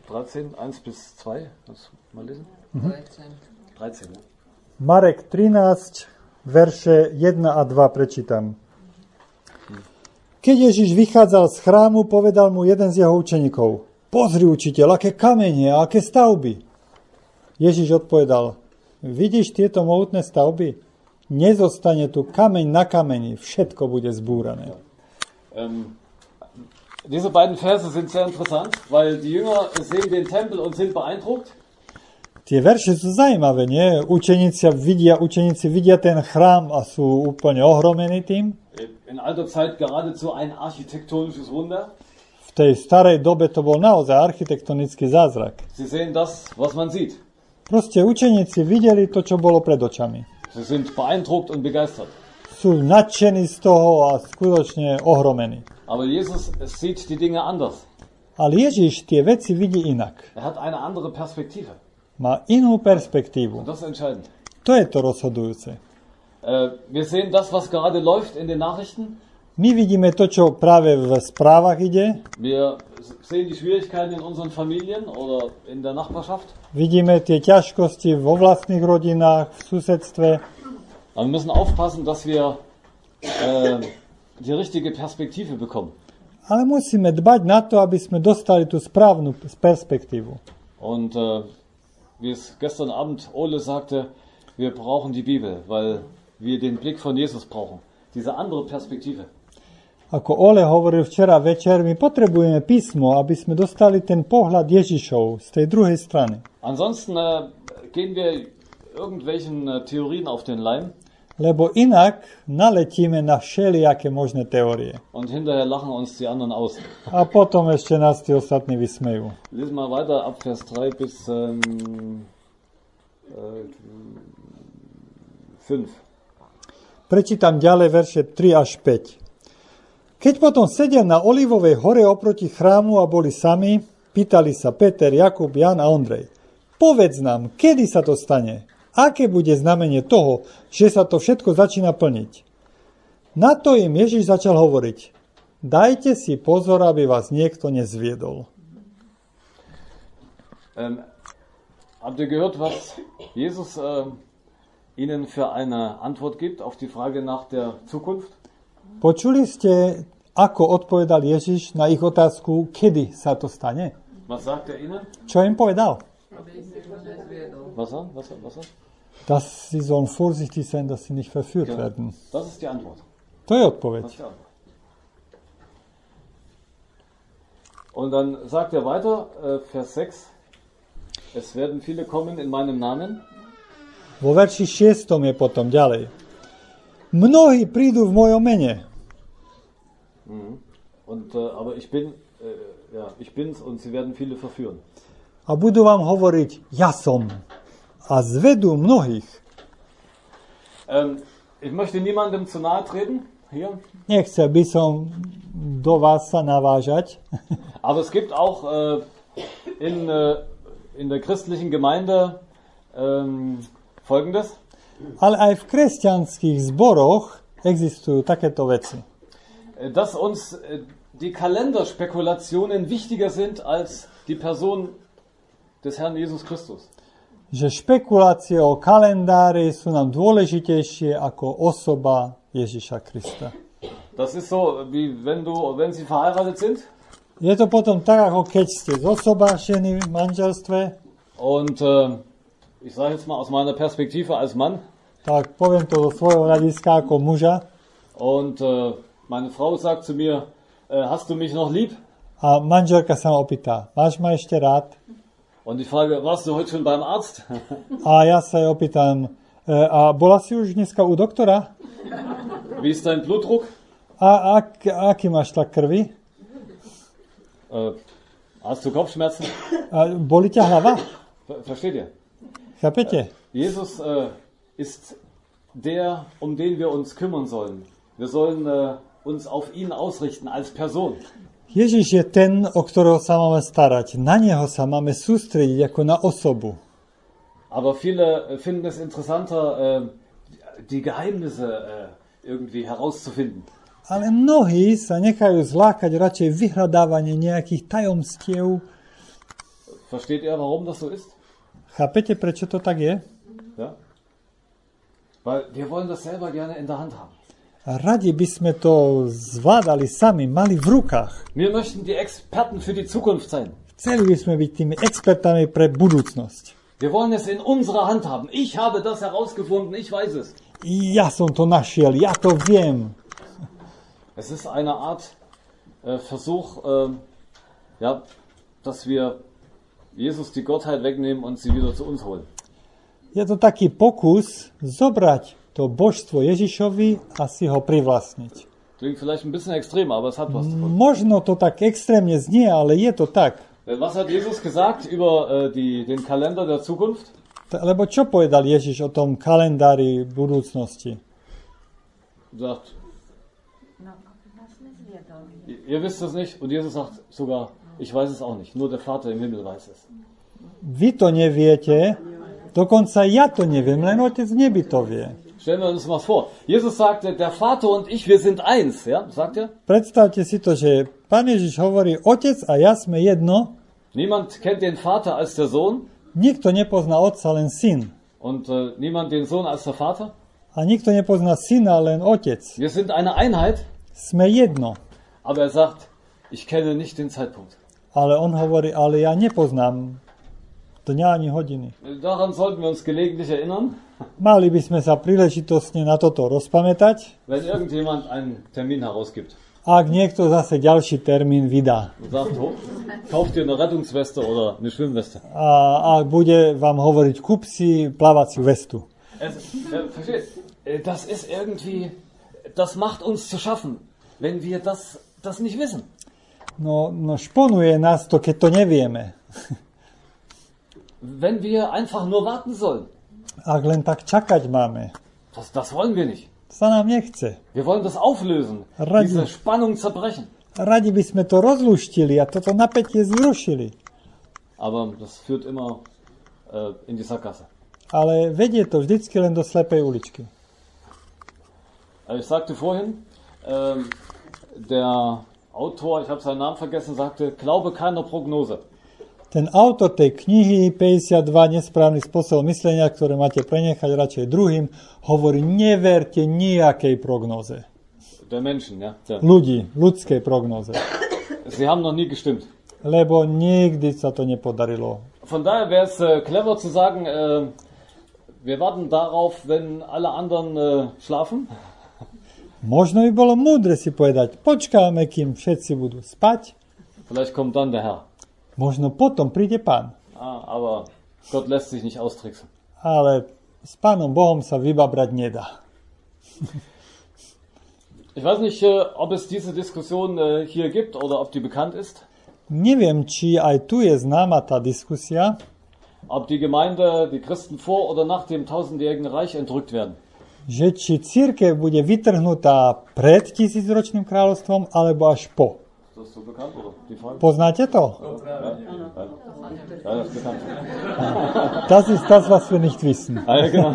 13, 1 bis 2. Kannst du mal lesen? 13, ja. Marek 13, verše 1 a 2 prečítam. Keď Ježiš vychádzal z chrámu, povedal mu jeden z jeho učeníkov: Pozri, učiteľ, aké kamene a aké stavby. Ježiš odpovedal: Vidíš tieto mohutné stavby? Nezostane tu kameň na kameni, všetko bude zbúrané. Diese beiden Verse sind sehr interessant, weil die Jünger sehen den Tempel und sind beeindruckt. Tie verše sú zaujímavé, nie? Učeníci vidia ten chrám a sú úplne ohromení tým. In alter Zeit geradezu ein architektonisches Wunder. V tej starej dobe to bol naozaj architektonický zázrak. Sie sehen das, was man sieht. Proste učeníci videli to, čo bolo pred očami. Sie sind beeindruckt und begeistert. Sú nadšení z toho a skutočne ohromení. Aber Jesus sieht die Dinge anders. Ale Ježiš tie veci vidí inak. Er hat eine andere Perspektive. Má inú perspektívu. Und das ist entscheidend. To je to rozhodujúce. Wir sehen das, was gerade läuft in den Nachrichten. My vidíme to, čo práve v správach ide. Wir sehen die Schwierigkeiten in unseren Familien oder in der Nachbarschaft. Vidíme tie ťažkosti vo vlastných rodinách, v susedstve. Aber wir müssen aufpassen, dass wir die richtige Perspektive bekommen. Ale musíme dbať na to, aby sme dostali tú správnu perspektívu. Und wie es gestern Abend Ole sagte, wir brauchen die Bibel, weil wir den Blick von Jesus brauchen. Diese andere Perspektive. Ako Ole hovoril včera večer, my potrebujeme písmo, aby sme dostali ten pohľad Ježišov z tej druhej strany. Ansonsten gehen wir irgendwelchen Theorien auf den Leim. Lebo inak naletíme na všelijaké možné teórie. Und hinterher lachen uns die anderen aus. A potom ešte nás tí ostatní vysmejú. Lies mal weiter ab Vers 3 bis 5. Prečítam ďalej verše 3 až 5. Keď potom sedel na Olivovej hore oproti chrámu a boli sami, pýtali sa Peter, Jakub, Jan a Ondrej: Povedz nám, kedy sa to stane? Aké bude znamenie toho, že sa to všetko začína plniť? Na to im Ježiš začal hovoriť: Dajte si pozor, aby vás niekto nezviedol. Habt ihr gehört, was Jesus Ihnen für eine Antwort gibt auf die Frage nach der Zukunft? Počuli ste, ako odpovedal Ježiš na ich otázku, kedy sa to stane? Was sagt er Ihnen? Čo im povedal? Was? Dass sie sollen vorsichtig sein, dass sie nicht verführt werden. Das ist die Antwort. To je odpoveď. Und dann sagt er weiter, Vers 6, es werden viele kommen in meinem Namen. Vo verši 6 je potom ďalej. Mnohí prídu v mojom mene. Aber ich bin's und sie werden viele verführen. A budú vám hovoriť: Ja som. A zvedú mnohých. Ich möchte niemandem zu nahe treten hier. Nechcel by som do vás sa navážať. Aber es gibt auch in der christlichen Gemeinde Folgendes. Ale aj v kresťanských zboroch existujú takéto veci. Dass uns die Kalenderspekulationen wichtiger sind als die Person des Herrn Jesus Christus. Že špekulácie o kalendári sú nám dôležitejšie ako osoba Ježiša Krista. Das ist so, wie wenn Sie verheiratet sind. Je to potom tak, ako keď ste zosobášení v manželstve. Und ich sage jetzt mal aus meiner Perspektive als Mann. Tak poviem to zo svojho hľadiska ako muža. Und meine Frau sagt zu mir, hast du mich noch lieb? A manželka sa ma opýta: Máš ma ešte rád? Und ich frage, warst du heute schon beim Arzt? A ja sa jej opýtam: A bola si už dneska u doktora? Wie ist dein Blutdruck? A aký máš tlak krvi? Hast du Kopfschmerzen? Boli ťa hlava? Versteht ihr? Chápete? Jesus ist der, um den wir uns kümmern sollen. Wir sollen uns auf ihn ausrichten als Person. Ježiš je ten, o ktorého sa máme starať. Na neho sa máme sústrediť ako na osobu. Aber viele finden es interessanter, die Geheimnisse irgendwie herauszufinden. Ale mnohí sa nechajú zlákať radšej vyhľadávanie nejakých tajomstiev. versteht ihr, warum das so ist? Chápete, prečo to tak je? Ja? Weil wir wollen das selber gerne in der Hand haben. Radi by sme to zvládali sami, mali v rukách. Wir möchten die Experten für die Zukunft sein. Chceli by sme byť tými expertami pre budúcnosť. Wir wollen es in unserer Hand haben. Ich habe das herausgefunden, ich weiß es. Ja som to našiel, ja to viem. Es ist eine Art Versuch, dass wir Jesus die Gottheit wegnehmen und sie wieder zu uns holen. Je to taký pokus zobrať to božstvo Ježišovi a si ho privlastniť. Klingt vielleicht ein bisschen extrem, aber es hat was davon. Možno to tak extrémne znie, ale je to tak. Was hat Jesus gesagt über den Kalender der Zukunft? Lebo čo povedal Ježiš o tom kalendári budúcnosti? Sagt, ihr wisst es nicht und Jesus sagt sogar, ich weiß es auch nicht, nur der Vater im Himmel weiß es. Vy to neviete, dokonca ja to neviem, len Otec v nebi to vie. Stellen wir uns mal vor. Jesus sagte, der Vater und ich, wir sind eins. Ja, sagt er? Predstavte si to, že Pán Ježiš hovorí, Otec a ja sme jedno. Niemand kennt den Vater als der Sohn. Nikto nepozná Otca, len Syn. Und niemand den Sohn als der Vater. A nikto nepozná Syna, len Otec. Wir sind eine Einheit. Sme jedno. Aber er sagt, ich kenne nicht den Zeitpunkt. Ale on hovorí, ale ja nepoznám dňa ani hodiny. Daran sollten wir uns gelegentlich erinnern. Mali by sme sa príležitostne na toto rozpamätať, wenn irgendjemand einen Termin herausgibt. Ak niekto zase ďalší termín vydá. Und sagt, kauf dir eine Rettungsweste oder eine Schwimmweste. A bude vám hovoriť, kúp si plávaciu vestu. Versteht? Das ist irgendwie, das macht uns zu schaffen, wenn wir das nicht wissen. No šponuje nás to, keď to nevieme. Wenn wir einfach nur warten sollen. Ak len tak čakať máme. Das wollen wir nicht. Sa nám nechce. Wir wollen das auflösen. Diese Spannung zerbrechen. Radi by sme to rozluštili a toto napätie zrušili. Aber das führt immer in die Sackgasse. Ale vedie to vždycky len do slepej uličky. Ich sagte vorhin, der Autor, ich habe seinen Namen vergessen, sagte, glaube keiner Prognose. Ten autor tej knihy 52 nesprávny spôsob myslenia, ktoré máte prenechať radšej druhým, hovorí, neverte nejakej prognoze. Der Menschen, ja. Ľudí, ľudskej prognoze. Sie haben noch nie gestimmt. Lebo nikdy sa to nepodarilo. Von daher wäre es clever zu sagen, wir warten darauf, wenn alle anderen schlafen. Možno by bolo múdre si povedať, počkáme, kým všetci budú spať. Vielleicht kommt dann der Herr. Možno potom príde Pán. Aber Gott lässt sich nicht austricksen. Ale s Pánom Bohom sa vybabrať nedá. Ich weiß nicht, ob es diese Diskussion hier gibt oder ob die bekannt ist. Neviem, či aj tu je známa tá diskusia. Ob die Gemeinde, die Christen vor oder nach dem 1000-jährigen Reich entrückt werden. Že či cirkev bude vytrhnutá pred tisícročným kráľovstvom alebo až po. Ist das so bekannt, oder? Die Frage? Poznáte to? Ja, das ist bekannt. Das ist das, was wir nicht wissen. Ja, genau.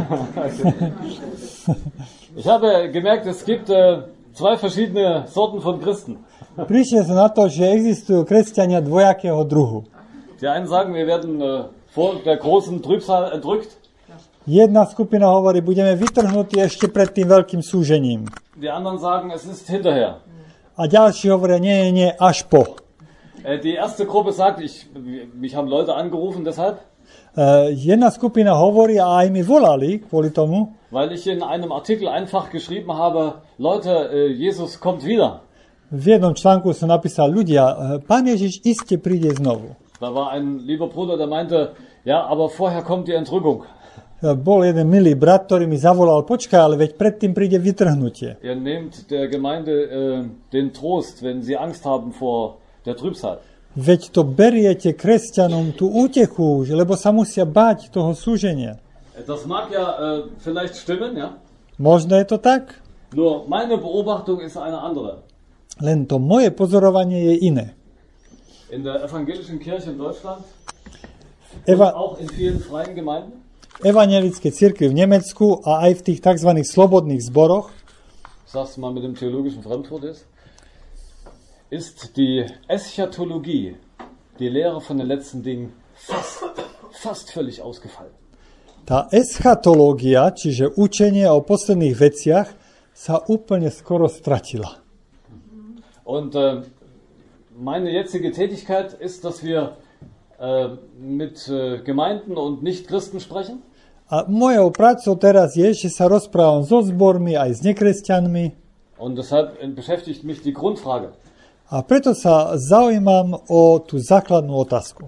Ich habe gemerkt, es gibt zwei verschiedene Sorten von Christen. Prišiel som na to, že existujú kresťania dvojakého druhu. Die einen sagen, wir werden vor der großen Trübsal entrückt. Jedna skupina hovorí, budeme vytrhnutí ešte pred tým veľkým súžením. Die anderen sagen, es ist hinterher. A ďalší hovoria, nie, až po. Die erste Gruppe sagt, mich haben Leute angerufen deshalb. Jedna skupina hovorí a aj mi volali kvôli tomu. Weil ich in einem Artikel einfach geschrieben habe, Leute, Jesus kommt wieder. V jednom článku som napísal, ľudia, Pán Ježiš iste príde znovu. Da war ein lieber Bruder, der meinte, ja, aber vorher kommt die Entrückung. Bol jeden milý brat, ktorý mi zavolal, počkaj, ale veď predtým príde vytrhnutie. Ihr nehmt der Gemeinde den Trost, wenn sie Angst haben vor der Trübsal. Veď to beriete kresťanom tú útechu, lebo sa musia báť toho súženia. Das mag ja vielleicht stimmen, ja. Možno je to tak? Nur meine Beobachtung ist eine andere. Len to moje pozorovanie je iné. In der evangelischen Kirche in Deutschland und auch in vielen freien Gemeinden. Evangelické cirkvi v Nemecku a aj v tých tzv. Slobodných zboroch, sag's mal mit dem theologischen Fremdwort ist die Eschatologie, die Lehre von den letzten Dingen, fast völlig ausgefallen. Tá eschatológia, čiže učenie o posledných veciach, sa úplne skoro stratila. Und meine jetzige Tätigkeit ist, dass wir mit Gemeinden und Nichtchristen sprechen. A mojou prácou teraz je, že sa rozprávam so zbormi aj s nekresťanmi. Und deshalb beschäftigt mich die Grundfrage. A preto sa zaujímam o tú základnú otázku.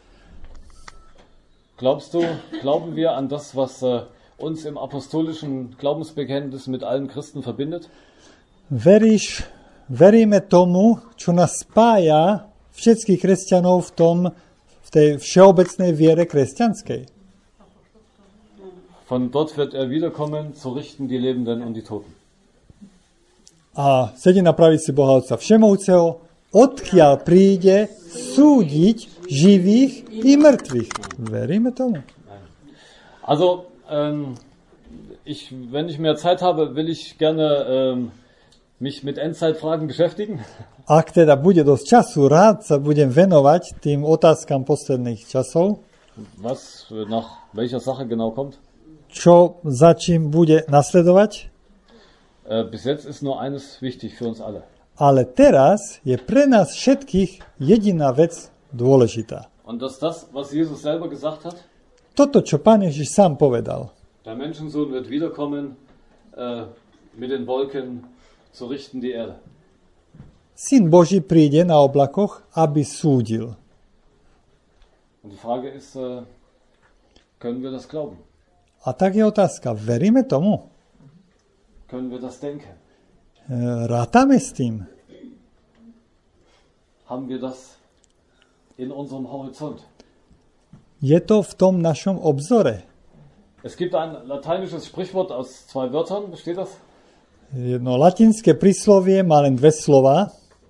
Glauben wir an das, was uns im apostolischen Glaubensbekenntnis mit allen Christen verbindet? Veríme tomu, čo nás spája všetkých kresťanov v tej všeobecnej viere kresťanskej. Von dort wird er wiederkommen, zu richten die Lebenden und die Toten. A sedí na pravici Boha Otca Všemovúceho, odkiaľ príde súdiť živých i mŕtvych. Veríme tomu? Also, wenn ich mehr Zeit habe, will ich gerne mich mit Endzeitfragen beschäftigen. Ak teda bude dosť času, rád sa budem venovať tým otázkam posledných časov. Was nach welcher Sache genau kommt? Čo za čím bude nasledovať? Bis jetzt ist nur eines wichtig für uns alle. Ale teraz je pre nás všetkých jediná vec dôležitá. Und das, was Jesus selber gesagt hat? Toto, čo Pán Ježiš sám povedal. Der Menschensohn wird wiederkommen mit den Wolken zu richten die Erde. Syn Boží príde na oblakoch, aby súdil. Und die Frage ist, können wir das glauben? A tak je otázka, veríme tomu? Können wir das denken? Rátame s tým? Haben wir das in unserem Horizont? Je to v tom našom obzore? Es gibt ein lateinisches Sprichwort aus 2 Wörtern, besteht das? Jedno latinské príslovie má len 2 slova.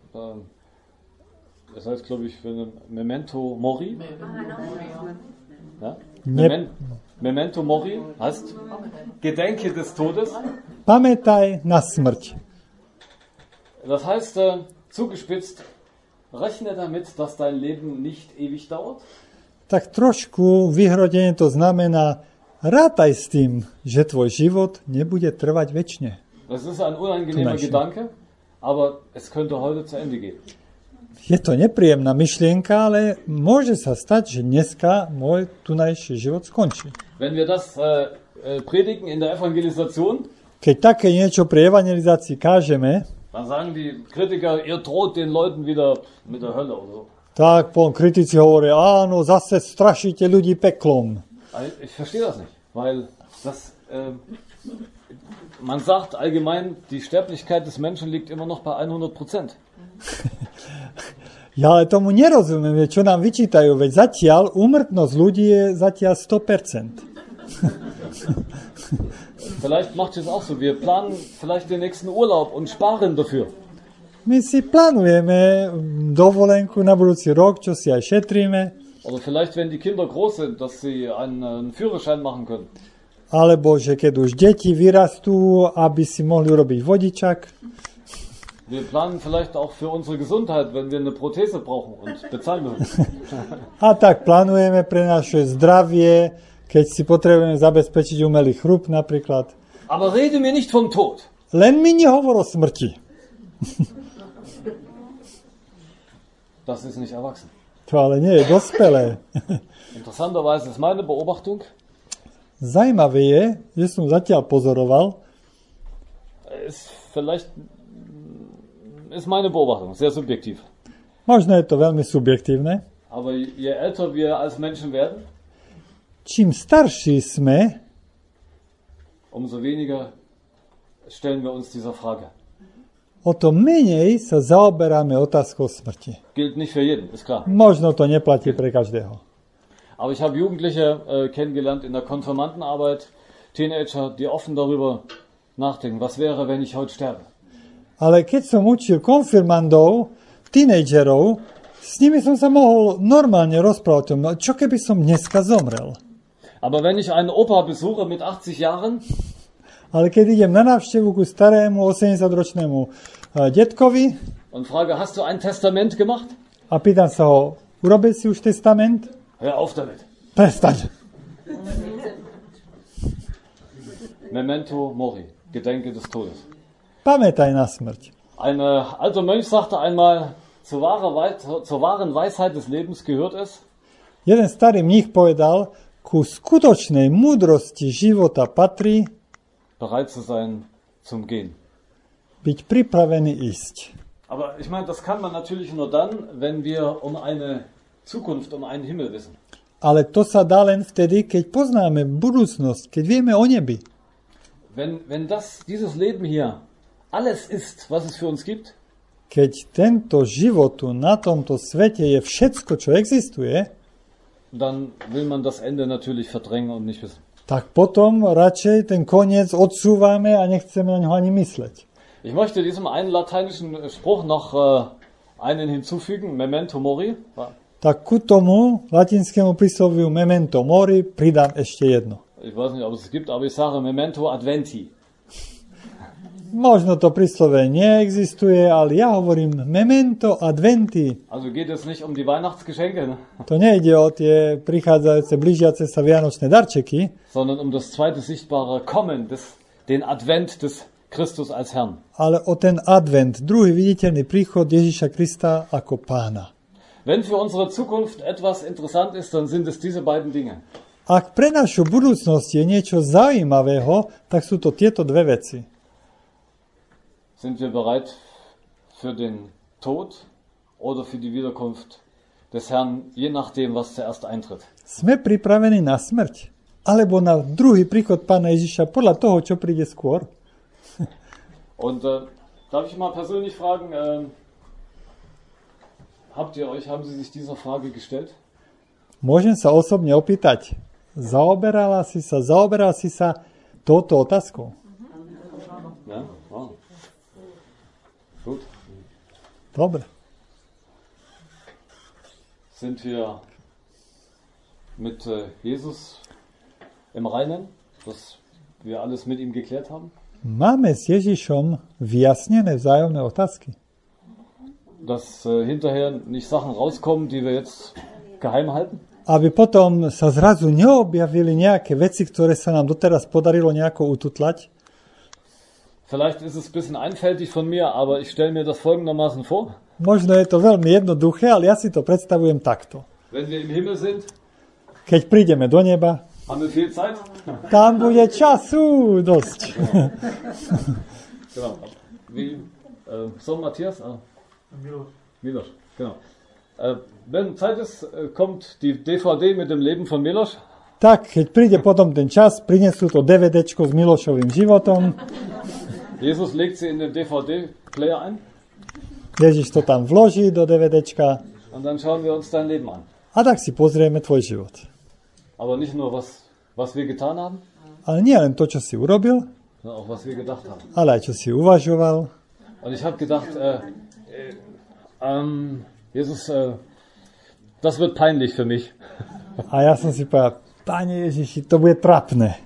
Das heißt, glaube ich, Memento Mori. Ja? Memento Mori heißt Gedenke des Todes. Pamätaj na smrť. Das heißt, zugespitzt, rechne damit, dass dein Leben nicht ewig dauert. Tak trošku vyhrodenie to znamená, rátaj s tým, že tvoj život nebude trvať večne. Das ist ein unangenehmer Gedanke, aber es könnte heute zu Ende gehen. Je to nepríjemná myšlienka, ale môže sa stať, že dneska môj tunajší život skončí. Wenn wir das predigen in der Evangelisation, keď také niečo pri evangelizácii kážeme, dann sagen die Kritiker, ihr droht den Leuten wieder mit der Hölle oder so. Tak kritici hovoria, áno, zase strašíte ľudí peklom. Ich verstehe das nicht, weil das, man sagt allgemein, die Sterblichkeit des Menschen liegt immer noch bei 100%. Ja ale tomu nerozumiem, čo nám vyčítajú, veď zatiaľ úmrtnosť ľudí je zatiaľ 100%. Vielleicht macht es auch so, wir planen vielleicht den nächsten Urlaub und sparen dafür. My si plánujeme dovolenku na budúci rok, čo si aj šetríme. Oder vielleicht, wenn die Kinder groß sind, dass sie einen Führerschein machen können. Alebo, že keď už deti vyrastú, aby si mohli urobiť vodičak. Wir planen vielleicht auch für unsere Gesundheit, wenn wir eine Prothese brauchen und bezahlen müssen. A tak plánujeme pre naše zdravie, keď si potrebujeme zabezpečiť umelý chrup napríklad. Aber rede mir nicht vom Tod. Len mi nehovor o smrti. Das ist nicht erwachsen. To ale nie je dospelé. Interessanterweise ist meine Beobachtung, Zajímavé je, že som zatiaľ pozoroval, ist meine Beobachtung, sehr subjektiv. Možno je to veľmi subjektívne. Aber je älter wir als Menschen werden, čím starší sme, umso weniger stellen wir uns dieser Frage. o to menej sa zaoberáme otázkou smrti. Gilt nicht für jeden, ist klar. Možno to neplatí pre každého. Aber ich habe Jugendliche kennengelernt in der Konfirmandenarbeit, Teenager, die offen darüber nachdenken, was wäre, wenn ich heute sterbe. Ale keď som učil konfirmandov, tínedžerov, s nimi som sa mohol normálne rozprávať o tom, čo keby som dneska zomrel. Aber wenn ich einen Opa besuche mit 80 Jahren, ale keď idem na návštevu ku starému 80-ročnému detkovi und frage, hast du ein Testament gemacht? a pýtam sa ho, urobil si už testament? Hör auf damit. Prestaň. Memento mori, Gedenke des Todes. Pamätaj na smrť. Ein alter Mönch sagte einmal, zur wahren Weisheit des Lebens gehört es, Jeden starý mních povedal, ku skutočnej múdrosti života patrí bereit zu sein zum Gehen. byť pripravený ísť. Aber ich meine, das kann man natürlich nur dann, wenn wir um eine Zukunft, um einen Himmel wissen. Ale to sa dá len vtedy, keď poznáme budúcnosť, keď vieme o nebi. Wenn dieses Leben hier alles ist, was es für uns gibt, Keď tento život tu na tomto svete je všetko, čo existuje, dann will man das Ende natürlich verdrängen und nicht wissen. tak potom radšej ten koniec odsúvame a nechceme na ňo ani mysleť. Ich möchte diesem einen lateinischen Spruch noch einen hinzufügen, Memento mori. Tak ku tomu latinskému prísloviu memento mori pridám ešte jedno. Ich weiß nicht, ob es gibt, aber ich sage Memento adventi. Možno to príslove neexistuje, ale ja hovorím memento adventi. Also geht es nicht um die Weihnachtsgeschenke, ne? To nejde o tie prichádzajúce, blížiace sa vianočné darčeky, sondern um das zweite sichtbare Kommen, den Advent des Christus als Herrn. ale o ten advent, druhý viditeľný príchod Ježiša Krista ako pána. Wenn für unsere Zukunft etwas interessant ist, dann sind es diese beiden Dinge. Ak pre našu budúcnosť je niečo zaujímavého, tak sú to tieto dve veci. Sind wir bereit für den Tod oder für die Wiederkunft des Herrn, je nachdem, was zuerst eintritt? Sme pripravení na smrť? Alebo na druhý príchod pána Ježiša podľa toho, čo príde skôr? Und darf ich mal persönlich fragen, haben Sie sich dieser Frage gestellt? Môžem sa osobne opýtať, zaoberal si sa touto otázkou? Ja? Wow. Gut. Dobre. Sind wir mit Jesus im Reinen, dass wir alles mit ihm geklärt haben? Máme s Ježišom vyjasnené vzájomné otázky. Dass hinterher nicht Sachen rauskommen, die wir jetzt geheim halten? Aby potom sa zrazu neobjavili nejaké veci, ktoré sa nám doteraz podarilo nejako ututlať. Vielleicht ist es ein bisschen einfältig von mir, aber ich stelle mir das folgendermaßen vor. Možno je to veľmi jednoduché, ale ja si to predstavujem takto. Wenn wir im Himmel sind, Keď prídeme do neba, haben wir viel Zeit. tam bude času dosť. Genau. Wie so Matthias? Miloš. Genau. Wenn Zeit ist, kommt die DVD mit dem Leben von Miloš. Tak, keď príde potom ten čas, prinesú to DVDčko s Milošovým životom. Jesus legt sie in den DVD-Player ein. Ježiš to tam vloží do DVDčka und dann schauen wir uns dein Leben an. a tak si pozrieme tvoj život. Aber nicht nur, was wir getan haben, Ale nie len to, čo si urobil, sondern auch, was wir gedacht haben. ale aj čo si uvažoval. Und ich habe gedacht, Jesus, das wird peinlich für mich. A ja som si povedal, Pane Ježiši, to bude trapné.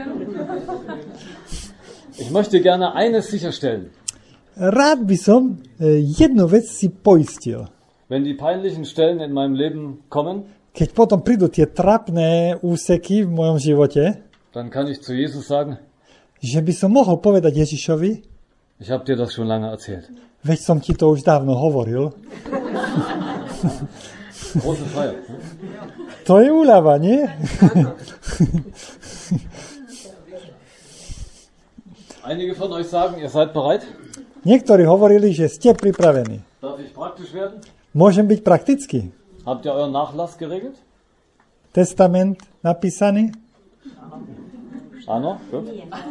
Ich möchte gerne eines sicherstellen. Rád by som jednu vec si poistil. Wenn die peinlichen Stellen in meinem Leben kommen, Keď potom prídu tie trapné úseky v mojom živote, dann kann ich zu Jesus sagen, že by som mohol povedať Ježišovi, ich habe dir das schon lange erzählt. veď som ti to už dávno hovoril. Große Freiheit. Ne? To je úľava, nie? Einige von euch sagen, ihr seid bereit. Niektorí hovorili, že ste pripravení. Darf ich praktisch werden? Môžem byť praktický. Habt ihr euren Nachlass geregelt? Testament napísaný? Áno, gut.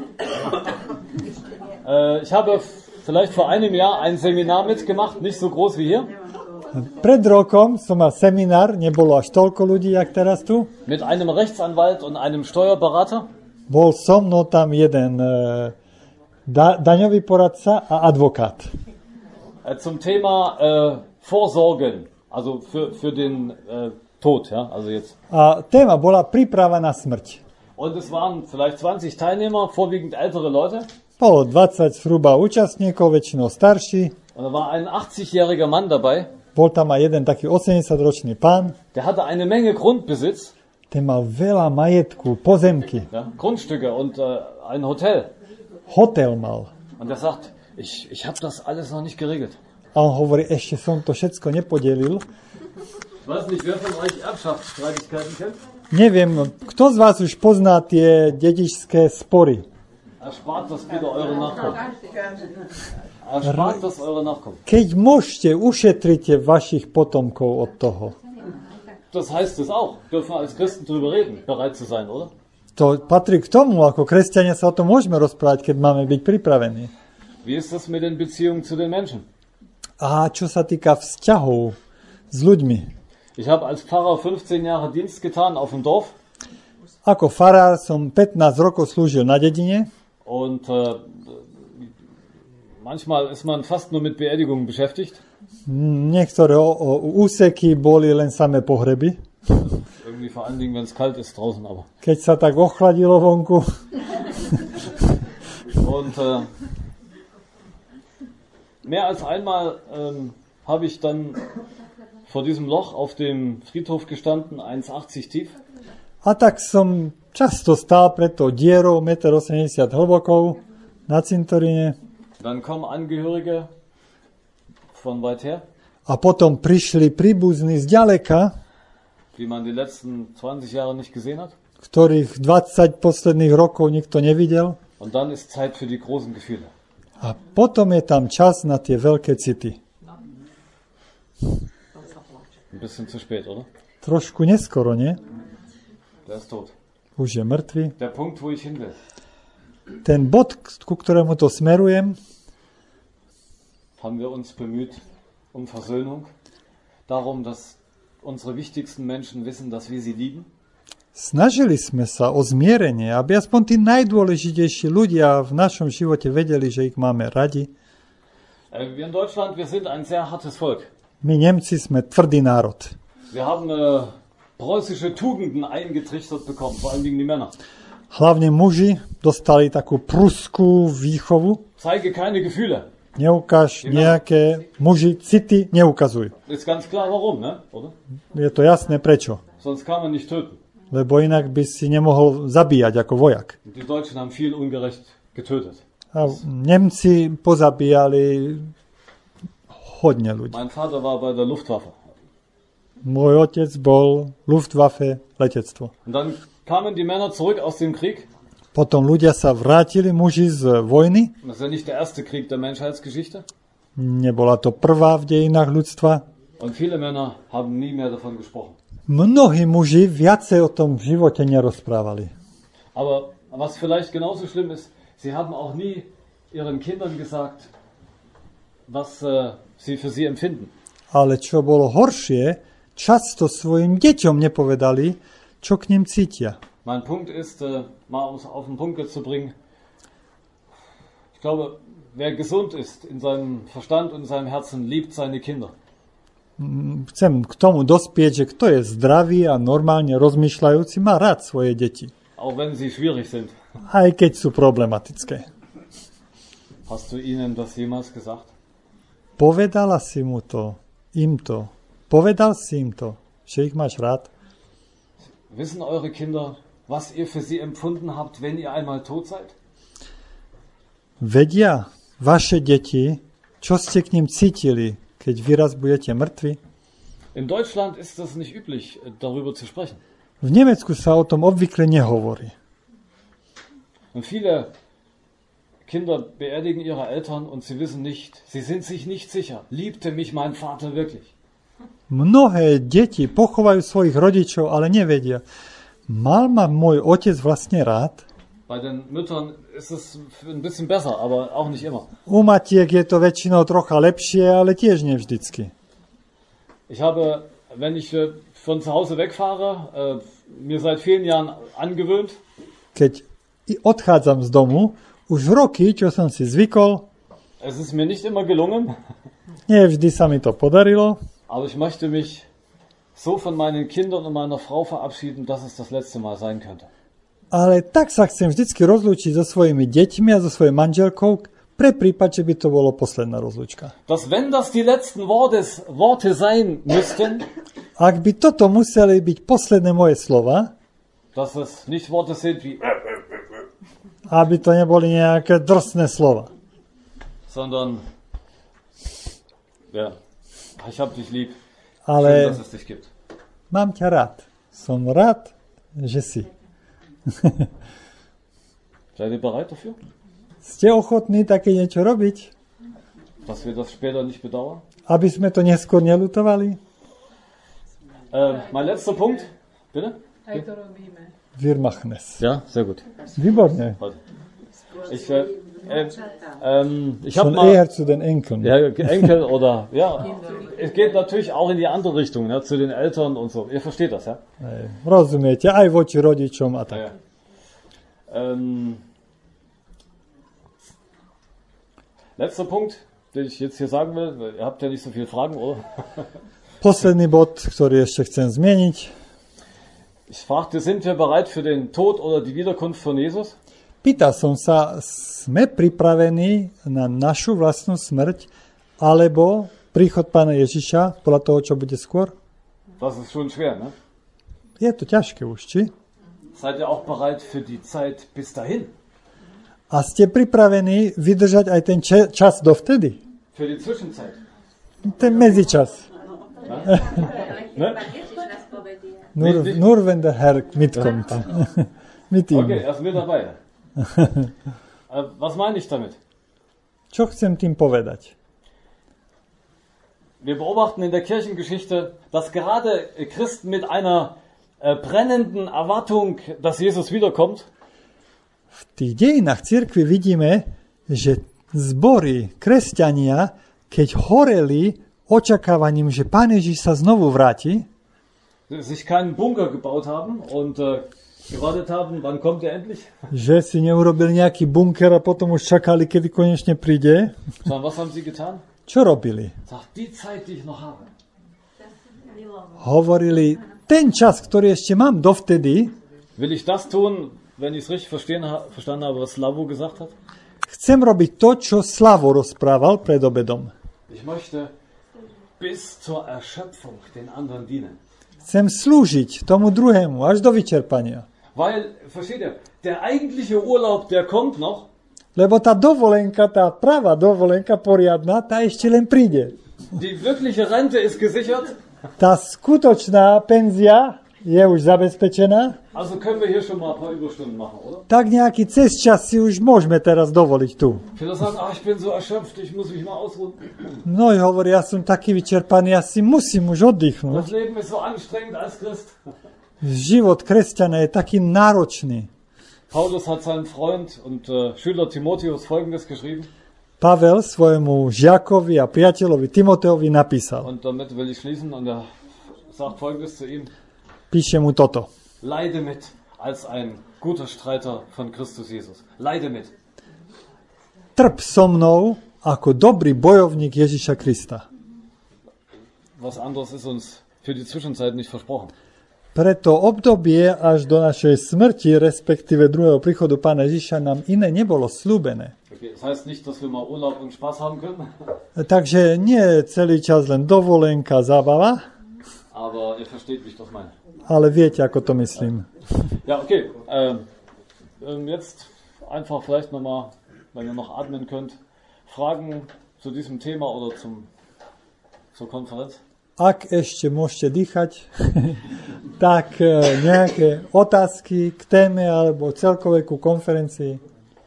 Ich habe vielleicht vor einem Jahr ein Seminar mitgemacht, nicht so groß wie hier. Pred rokom som mal seminár, nebolo až toľko ľudí, jak teraz tu. Mit einem Rechtsanwalt und einem Steuerberater. Bol so mnou tam jeden daňový poradca a advokát. Zum Thema Vorsorgen, also für den Tod, ja, also jetzt. A téma bola príprava na smrť. Und es waren vielleicht 20 Teilnehmer, vorwiegend ältere Leute. Bolo 20 zhruba účastníkov, väčšinou starší. Und da war ein 80-jähriger Mann dabei. Bol tam aj jeden taký 80-ročný pán, der hatte eine Menge Grundbesitz, ten mal veľa majetku, pozemky, ja, Grundstücke und ein Hotel. hotel mal. Und er sagt, ich habe das alles noch nicht geregelt. A on hovorí, ešte som to všetko nepodelil. Ich weiß nicht, wer von euch Erbschaftsstreitigkeiten kennt. Neviem, kto z vás už pozná tie dedičské spory? Erspart das bitte eure Nachkommen. Erspart das eure Nachkommen. Keď môžete, ušetrite vašich potomkov od toho. Das heißt es auch, dürfen wir als Christen drüber reden, bereit zu sein, oder? To patrí k tomu, ako kresťania sa o tom môžeme rozprávať, keď máme byť pripravení. Wie ist das mit den Beziehungen zu den Menschen? A čo sa týka vzťahov s ľuďmi? Ich habe als Pfarrer 15 Jahre Dienst getan auf dem Dorf. Ako farár som 15 rokov slúžil na dedine. Und manchmal ist man fast nur mit Beerdigungen beschäftigt. Niektoré úseky boli len samé pohreby. Irgendwie vor allen Dingen, wenn es kalt ist draußen, aber. Keď sa tak ochladilo vonku. Und mehr als einmal habe ich dann vor diesem Loch auf dem Friedhof gestanden, 1,80 tief. A tak som často stál pred tou dierou 1,80 m hlbokou na cintoríne. Dann kommen Angehörige von weit her. A potom prišli príbuzní z ďaleka, die man die letzten 20 Jahre nicht gesehen hat. Ktorých 20 posledných rokov nikto nevidel. Und dann ist Zeit für die großen Gefühle. A potom je tam čas na tie veľké city. Ein bisschen zu spät, oder? Trošku neskoro, nie? Der ist tot. Už je mŕtvy. Der Punkt, wo ich hin will. Ten bod, ku ktorému to smerujem, haben wir uns bemüht um Versöhnung, darum, dass unsere wichtigsten Menschen wissen, dass wir sie lieben. Snažili sme sa o zmierenie, aby aspoň tí najdôležitejší ľudia v našom živote vedeli, že ich máme radi. Wir in Deutschland, wir sind ein sehr hartes Volk. My Nemci sme tvrdý národ. Wir haben preußische Tugenden eingetrichtert bekommen, vor allen Dingen die Männer. Hlavne muži dostali takú pruskú výchovu. Zeige keine Gefühle. Neukáž nejaké muži, city neukazuj. Ist ganz klar warum, ne? Oder? Je to jasné prečo. Sonst kann man nicht töten. Lebo inak by si nemohol zabíjať ako vojak. Die Deutschen haben viel ungerecht getötet. A Nemci pozabíjali hodne ľudí. Mein Vater war bei der Luftwaffe. Môj otec bol Luftwaffe, letectvo. Und dann kamen die Männer zurück aus dem Krieg. Potom ľudia sa vrátili, muži z vojny. Das ist ja nicht der erste Krieg der Menschheitsgeschichte. Nebola to prvá v dejinách ľudstva. Und viele Männer haben nie mehr davon gesprochen. Mnohí muži viacej o tom v živote nerozprávali. Aber was vielleicht genauso schlimm ist, sie haben auch nie ihren Kindern gesagt, was sie für sie empfinden. Ale čo bolo horšie, často svojim deťom nepovedali, čo k nim cítia. Mein Punkt ist, mal um es auf den Punkt zu bringen, ich glaube, wer gesund ist in seinem Verstand und in seinem Herzen, liebt seine Kinder. Chcem k tomu dospieť, že kto je zdravý a normálne rozmýšľajúci, má rád svoje deti. Auch wenn sie schwierig sind. Aj keď sú problematické. Hast du ihnen das jemals gesagt? Povedala si mu to, im to. Povedal si im to, že ich máš rád. Wissen eure Kinder, was ihr für sie empfunden habt, wenn ihr einmal tot seid? Vedia vaše deti, čo ste k nim cítili, keď vy raz budete mŕtvi? In Deutschland ist es nicht üblich, darüber zu sprechen. V Nemecku sa o tom obvykle nehovorí. Und viele Kinder beerdigen ihre Eltern und sie wissen nicht, sie sind sich nicht sicher. Liebte mich mein Vater wirklich? Mnohé deti pochovajú svojich rodičov, ale nevedia. Mal ma môj otec vlastne rád? Bei den Müttern ist es ein bisschen besser, aber auch nicht immer. U matiek je to väčšinou trocha lepšie, ale tiež nevždycky. Ich habe, wenn ich von zu Hause wegfahre, mir seit vielen Jahren angewöhnt. Keď odchádzam z domu, už roky, čo som si zvykol. Es ist mir nicht immer gelungen. Nie vždy sa mi to podarilo. Aber ich möchte mich so von meinen Kindern und meiner Frau verabschieden, dass es das letzte Mal sein könnte. Ale tak sa chcem vždycky rozlúčiť so svojimi deťmi a so svojou manželkou, pre prípad, že by to bolo posledná rozlúčka. Dass wenn das die letzten Worte sein müssten, Ak by toto museli byť posledné moje slova, dass es nicht Worte sind wie aby to neboli nejaké drsné slova, sondern ja, ich hab dich lieb. ale Schön, dass es dich gibt. mám ťa rád. Som rád, že si. Seid ihr bereit dafür? Ste ochotní také niečo robiť, Dass wir das später nicht bedauern? aby sme to neskôr nelutovali? Mein letzter Punkt, bitte? Aj to robíme. Wir machen es. Ja, sehr gut. Výborne. Ich habe Schon mal eher zu den Enkeln. ja, Enkel oder ja, es geht natürlich auch in die andere Richtung, ne, zu den Eltern und so. Ihr versteht das, ja? Rozumiete, aj voči rodičom a tak. Ja. Letzter Punkt, den ich jetzt hier sagen will, weil ihr habt ja nicht so viele Fragen, oder? Posledný bod, ktorý ešte chcem zmieniť. Ich fragte, sind wir bereit für den Tod oder die Wiederkunft von Jesus? Pýtal som sa, sme pripravení na našu vlastnú smrť alebo príchod Pána Ježiša podľa toho, čo bude skôr? Das ist schon schwer, ne? Je to ťažké už, či? Seid ihr auch bereit für die Zeit bis dahin? A ste pripravení vydržať aj ten čas dovtedy? Für die Zwischenzeit? Ten medzičas. Ne? Nur wenn der Herr mitkommt. Mit ihm. Okay, er ist mit dabei. Was meine ich damit? Čo chcem tým povedať? Wir beobachten in der Kirchengeschichte, dass gerade Christen mit einer brennenden Erwartung, dass Jesus wiederkommt, V tých dejinách cirkvi vidíme, že zbory, kresťania, keď horeli očakávaním, že Pán Ježiš sa znovu vráti, sich keinen Bunker gebaut haben und gewartet haben, wann kommt er endlich? že si neurobili nejaký bunker a potom už čakali, kedy konečne príde. Sondern was haben sie getan? Čo robili? Sagt, die Zeit, die ich noch habe. Hovorili, ten čas, ktorý ešte mám dovtedy, Will ich das tun, wenn ich es richtig verstanden habe, was Slavo gesagt hat? chcem robiť to, čo Slavo rozprával pred obedom. Ich möchte bis zur Erschöpfung den anderen dienen. Chcem slúžiť tomu druhému až do vyčerpania. Weil, versteht ihr, der eigentliche Urlaub, der kommt noch. Lebo tá dovolenka, tá pravá dovolenka poriadna, tá ešte len príde. Die wirkliche Rente ist gesichert. Tá skutočná penzia je už zabezpečená. Also können wir hier schon mal ein paar Überstunden machen, oder? Tak nejaký cezčas si už môžeme teraz dovoliť tu. Viele sagen, ich bin so erschöpft, ich muss mich mal ausruhen. Mnohí hovoria, ja som taký vyčerpaný, ja si musím už oddychnúť. Das Leben ist so anstrengend als Christ. Život kresťana je taký náročný. Paulus hat seinem Freund und Schüler Timotheus Folgendes geschrieben. Pavel svojemu žiakovi a priateľovi Timoteovi napísal. Und damit will ich schließen und er sagt Folgendes zu ihm. Píše mu toto. Leide mit als ein guter Streiter von Christus Jesus. Leide mit. Trp so mnou ako dobrý bojovník Ježiša Krista. Was anderes ist uns für die Zwischenzeit nicht versprochen. Pre to obdobie až do našej smrti, respektíve druhého príchodu Pána Ježiša, nám iné nebolo slúbené. Okay, das heißt nicht, dass wir mal Urlaub und Spaß haben können, Takže nie celý čas len dovolenka, zábava, aber ihr versteht, wie ich das meine. ale viete, ako to myslím. Ja, okay. Jetzt einfach vielleicht nochmal, wenn ihr noch atmen könnt, Fragen zu diesem Thema oder zur Konferenz? Ak ešte môžete dýchať, tak nejaké otázky k téme alebo celkovej ku konferencii.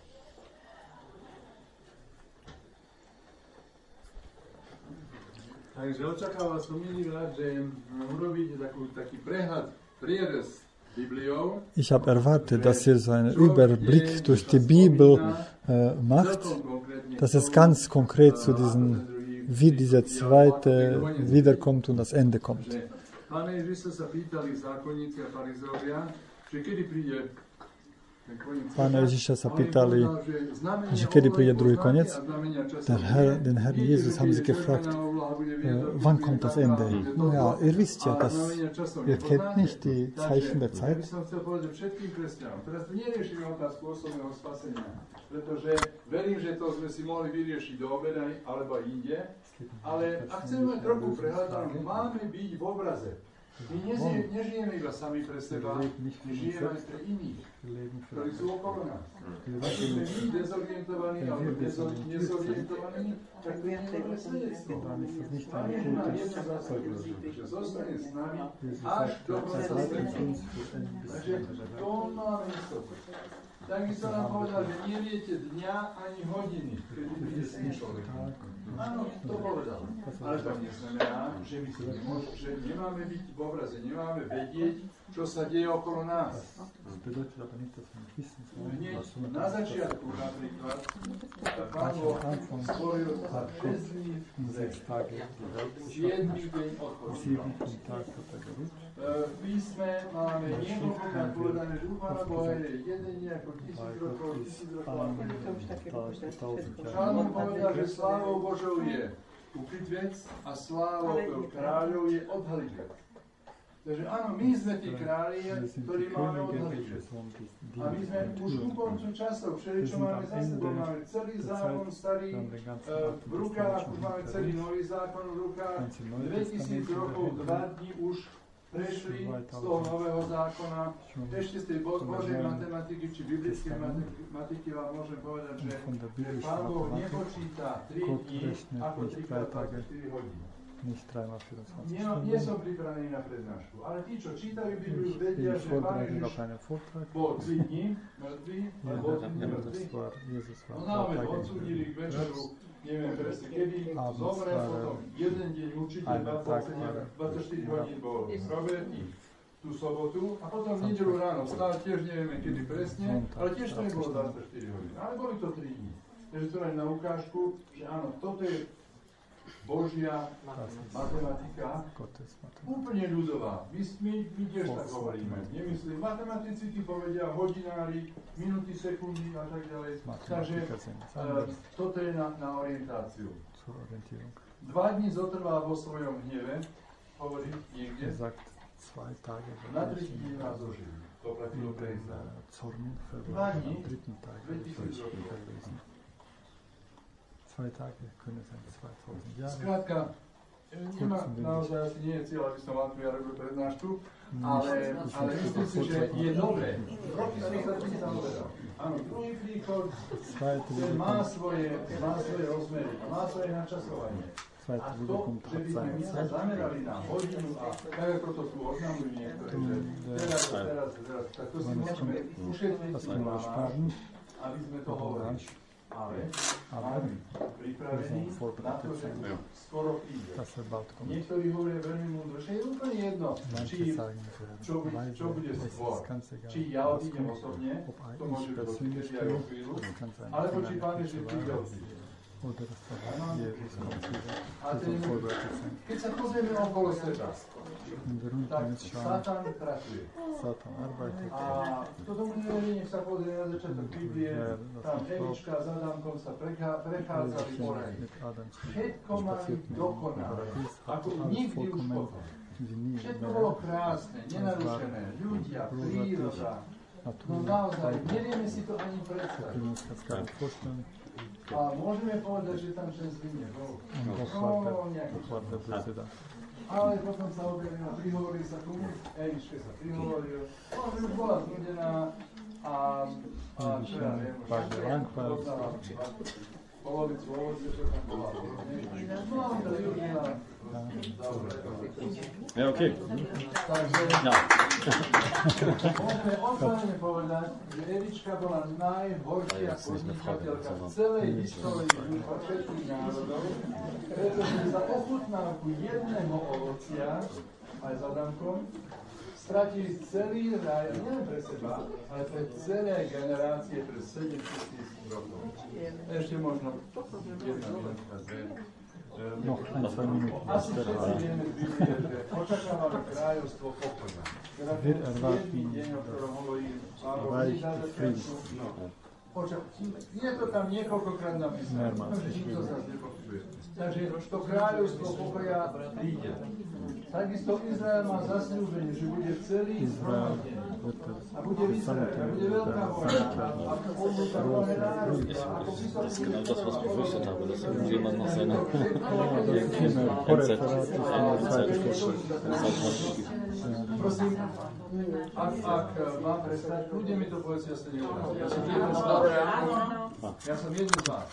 Takže očakáva som minulý rád, že urobíte taký prehľad, prierez Bibliou. Ich habe erwartet, dass ihr so einen Überblick durch die Bibel macht, dass es ganz konkret zu diesen, wie dieser zweite wiederkommt und das Ende kommt. Pána Ježiša sa pýtali zákonníci a farizeovia, že kedy príde Pána Ježiša sa pýtali, že kedy príde druhý koniec. Den Herr Jesus haben sie gefragt, wann kommt das Ende? No ja, ihr wisst ja, dass ihr kennt nicht die Zeichen der Zeit. Teraz tu neriešime otázku osobného spasenia, pretože verím, že to sme si mohli vyriešiť do obeda alebo inde, ale ak chceme mať trochu prehľad, máme byť v obraze. My nežijeme iba sami pre seba, my žijeme aj pre iných, ktorí sú okolo nás. Ak sme my dezorientovaní alebo nezorientovaní, tak to je dobré svedectvo. Pán Ježiš má jednu zásadu, že zostane s nami až do konca sveta. Takže to máme istotu. Takisto nám povedal, že neviete dňa ani hodiny, kedy bude Syn človeka. Áno, to povedal. Ale to neznamená, že my že nemáme byť v obraze, nemáme vedieť, čo sa deje okolo nás. Hneď na začiatku napríklad Pán Boh stvoril 6 dní zem. 7 deň odpočíval. V písme máme niekoľkokrát povedané, že u Pána Boha je jeden deň ako 1000 rokov, 1000 rokov. Šalmón povedal, že slávou Božou je ukryť vec a slávou kráľov je odhaliť vec. Takže áno, my sme tí králi, ktorí máme odhaliť vec. A my sme už ku koncu časov, všeli, čo máme za sebou, máme celý zákon starý v rukách, už máme celý nový zákon v rukách, 2000 rokov, 2 dní už prešli z toho nového zákona. Ešte z tej Božej matematiky či biblickej matematiky vám môžem povedať, že Pán Boh nepočíta 3 dní ako 3x24 hodiny. Nie som pripravený na prednášku, ale tí, čo čítajú Bibliu, vedia, že Pán Ježiš bol 3 dní mŕtvý, ale bol 3 dní mŕtvý. No naozaj odsúdili k večeru, neviem presne kedy, zomrel potom jeden deň určite 24 hodín bol zrobený tú sobotu a potom v nedeľu ráno vstal, tiež nevieme kedy presne, ale tiež to nebolo 24 hodín, ale boli to 3 dní. Takže to len na ukážku, že áno, toto je Božia matematika, úplne ľudová. My tiež tak hovoríme. Nemyslím, matematici ti povedia hodinári, minúty, sekundy a tak ďalej. Takže toto je na orientáciu. 2 dní zotrvá vo svojom hneve, hovorí niekde. Na 3 dní nás zožili. To platilo pre Izrael. 2 dní, 2000 rokov. Skrátka, naozaj asi nie je cieľ, aby som vám tu ja robil prednášku, ale myslím si, že je dobré. Roky som sa tým zaoberal. Áno, druhý príchod, ten má svoje rozmery, má svoje načasovanie. A to, že by sme my sa zamerali na hodinu a tak ako to tu oznamujú niektoré, že teraz, tak to si môžeme ušetriť aby sme to hovorili. Ale máme pripravení na to, že skoro príde. Niektorí hovoria veľmi múdro, že je úplne jedno, čo bude skôr. Či ja odídem osobne, to môže byť keď ja o chvíľu, alebo či Pán Ježiš príde odíde. Keď sa pozrieme okolo seba, tak Satan pracuje. A kto tomu neverí, nech sa pozrie na začiatok Biblie, tam Evička s Adamkom sa prechádzali po raji. Všetko mali dokonalé, ako nikdy už potom. Všetko bolo krásne, nenarušené, ľudia, príroda. No naozaj, nevieme si to ani predstaviť. A môžeme povedať, že tam ten zlý nebol. No, nejaký čas. Ale potom sa objavili a prihovorili sa tomu, Evičke sa prihovoril, že už bola znudená a čo ja viem, polovicu ovoce, čo tam bola. No, to je už na... Ja, okej. Takže môžeme otvorene povedať, že Evička bola najhoršia podnikateľka v celej histórii všetkých národov, pretože za ochutnávku jedného ovocia, aj s Adamkom, stratili celý raj, nie pre seba, ale pre celé generácie, pre 7 000 rokov. Ešte možno jedna minútka, dve. Noch ein, 2 Minuten. Asi všetci vieme z Biblie, že očakávame kráľovstvo pokoja. Teda ten 7. deň, o ktorom hovorí Pavol na začiatku. Je to tam niekoľkokrát napísané, že nikto sa nepochybuje. Takže to kráľovstvo pokoja príde. Takisto Izrael má zasľúbenie, že bude celý zhromaždený. A bude vyzerať, a bude veľká vojna. A odluka mnohé národy. Das ist genau das, was ich befürchtet habe, dass irgendjemand nach seiner Prosím, ak mám prestať, ľudia mi to povedzia, ja sa neurazím. Ja som jeden z vás.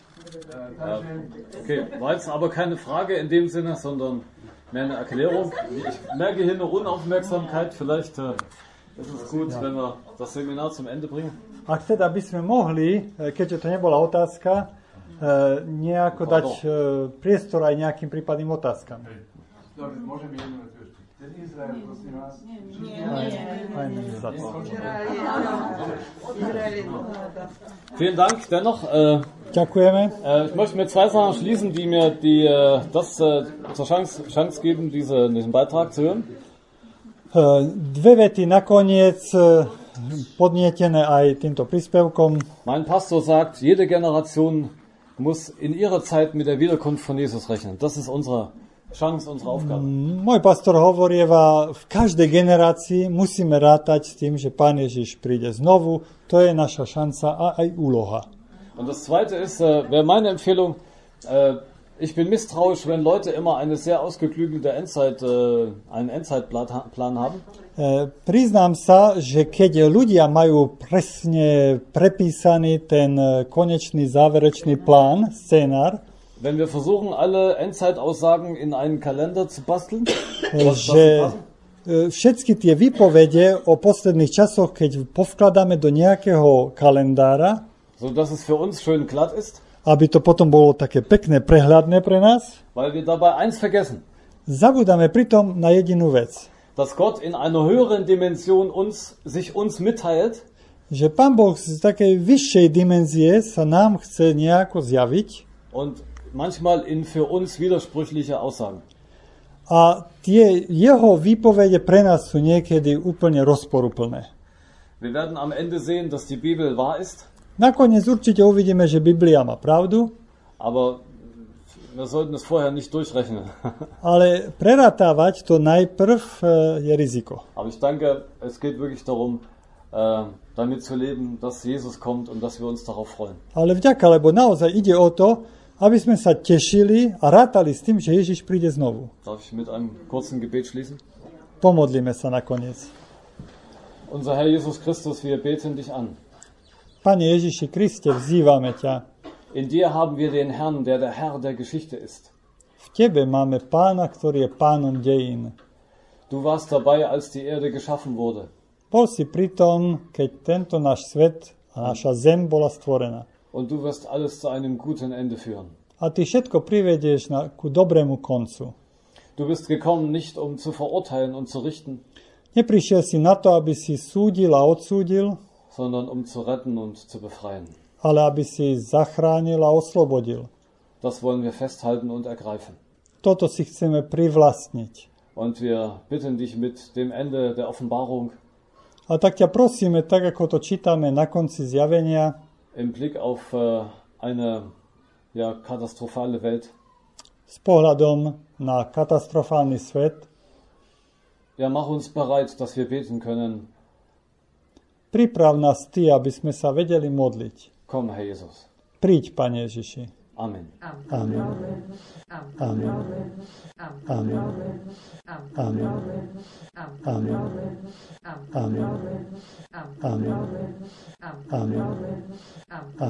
Okay, war jetzt aber keine Frage in dem Sinne, sondern mehr eine Erklärung. Ich merke hier eine Unaufmerksamkeit. Vielleicht ist es gut, wenn wir das Seminar zum Ende bringen. Ak teda by sme mohli, keďže to nebola otázka, nejako dať priestor aj nejakým prípadným otázkam. Dobre, môžeme jednu vec ešte. Ten Izrael, prosím vás. Vielen Dank dennoch. Ďakujeme. Ich möchte mit 2 Sachen schließen, die mir das zur Chance geben, diesen Beitrag zu hören. 2 vety nakoniec, podnietené aj týmto príspevkom. Mein Pastor sagt, jede Generation muss in ihrer Zeit mit der Wiederkunft von Jesus rechnen. Das ist unsere Chance, unsere Aufgabe. Môj pastor hovorieva, v každej generácii musíme rátať s tým, že Pán Ježiš príde znovu. To je naša šanca a aj úloha. Und das Zweite ist, wäre meine Empfehlung, ich bin misstrauisch, wenn Leute immer eine sehr ausgeklügelte einen Endzeitplan haben. Priznám sa, že keď ľudia majú presne prepísaný ten konečný záverečný plán, scenár, wenn wir versuchen, alle Endzeitaussagen in einen Kalender zu basteln, že všetky tie výpovede o posledných časoch, keď povkladáme do nejakého kalendára, so dass es für uns schön glatt ist, aby to potom bolo také pekné, prehľadné pre nás, weil wir dabei eins vergessen, zabudáme pritom na jedinú vec, dass Gott in einer höheren Dimension sich uns mitteilt, že Pán Boh z takej vyššej dimenzie sa nám chce nejako zjaviť und manchmal in für uns widersprüchliche Aussagen. A tie jeho výpovede pre nás sú niekedy úplne rozporuplné. Wir werden am Ende sehen, dass die Bibel wahr ist. Nakoniec určite uvidíme, že Biblia má pravdu, aber wir sollten es vorher nicht durchrechnen. ale preratávať to najprv je riziko. Aber ich denke, es geht wirklich darum, damit zu leben, dass Jesus kommt und dass wir uns darauf freuen. Ale vďaka, lebo naozaj ide o to, aby sme sa tešili a rátali s tým, že Ježiš príde znovu. Darf ich mit einem kurzen Gebet schließen? Pomodlíme sa nakoniec. Unser Herr Jesus Christus, wir beten dich an. Pane Ježiši Kriste, vzývame ťa. In dir haben wir den Herrn, der Herr der Geschichte ist. V tebe máme Pána, ktorý je pánom dejín. Du warst dabei, als die Erde geschaffen wurde. Bol si pritom, keď tento náš svet a naša zem bola stvorená. Und du wirst alles zu einem guten Ende führen. A ty všetko privedieš ku dobrému koncu. Du bist gekommen, nicht um zu verurteilen und zu richten, Neprišiel si na to, aby si súdil a odsúdil, sondern um zu retten und zu befreien. ale aby si zachránil a oslobodil. Das wollen wir festhalten und ergreifen. Toto si chceme privlastniť. Und wir bitten dich mit dem Ende der Offenbarung, A tak ťa prosíme, tak ako to čítame na konci zjavenia, im Blick auf eine katastrophale Welt, s pohľadom na katastrofálny svet, mach uns bereit, dass wir beten können. priprav nás ty, aby sme sa vedeli modliť. Komm, Herr Jesus. Príď, Pane Ježiši. Amen. Amen. Amen. Amen. Amen. Amen. Amen. Amen. Amen.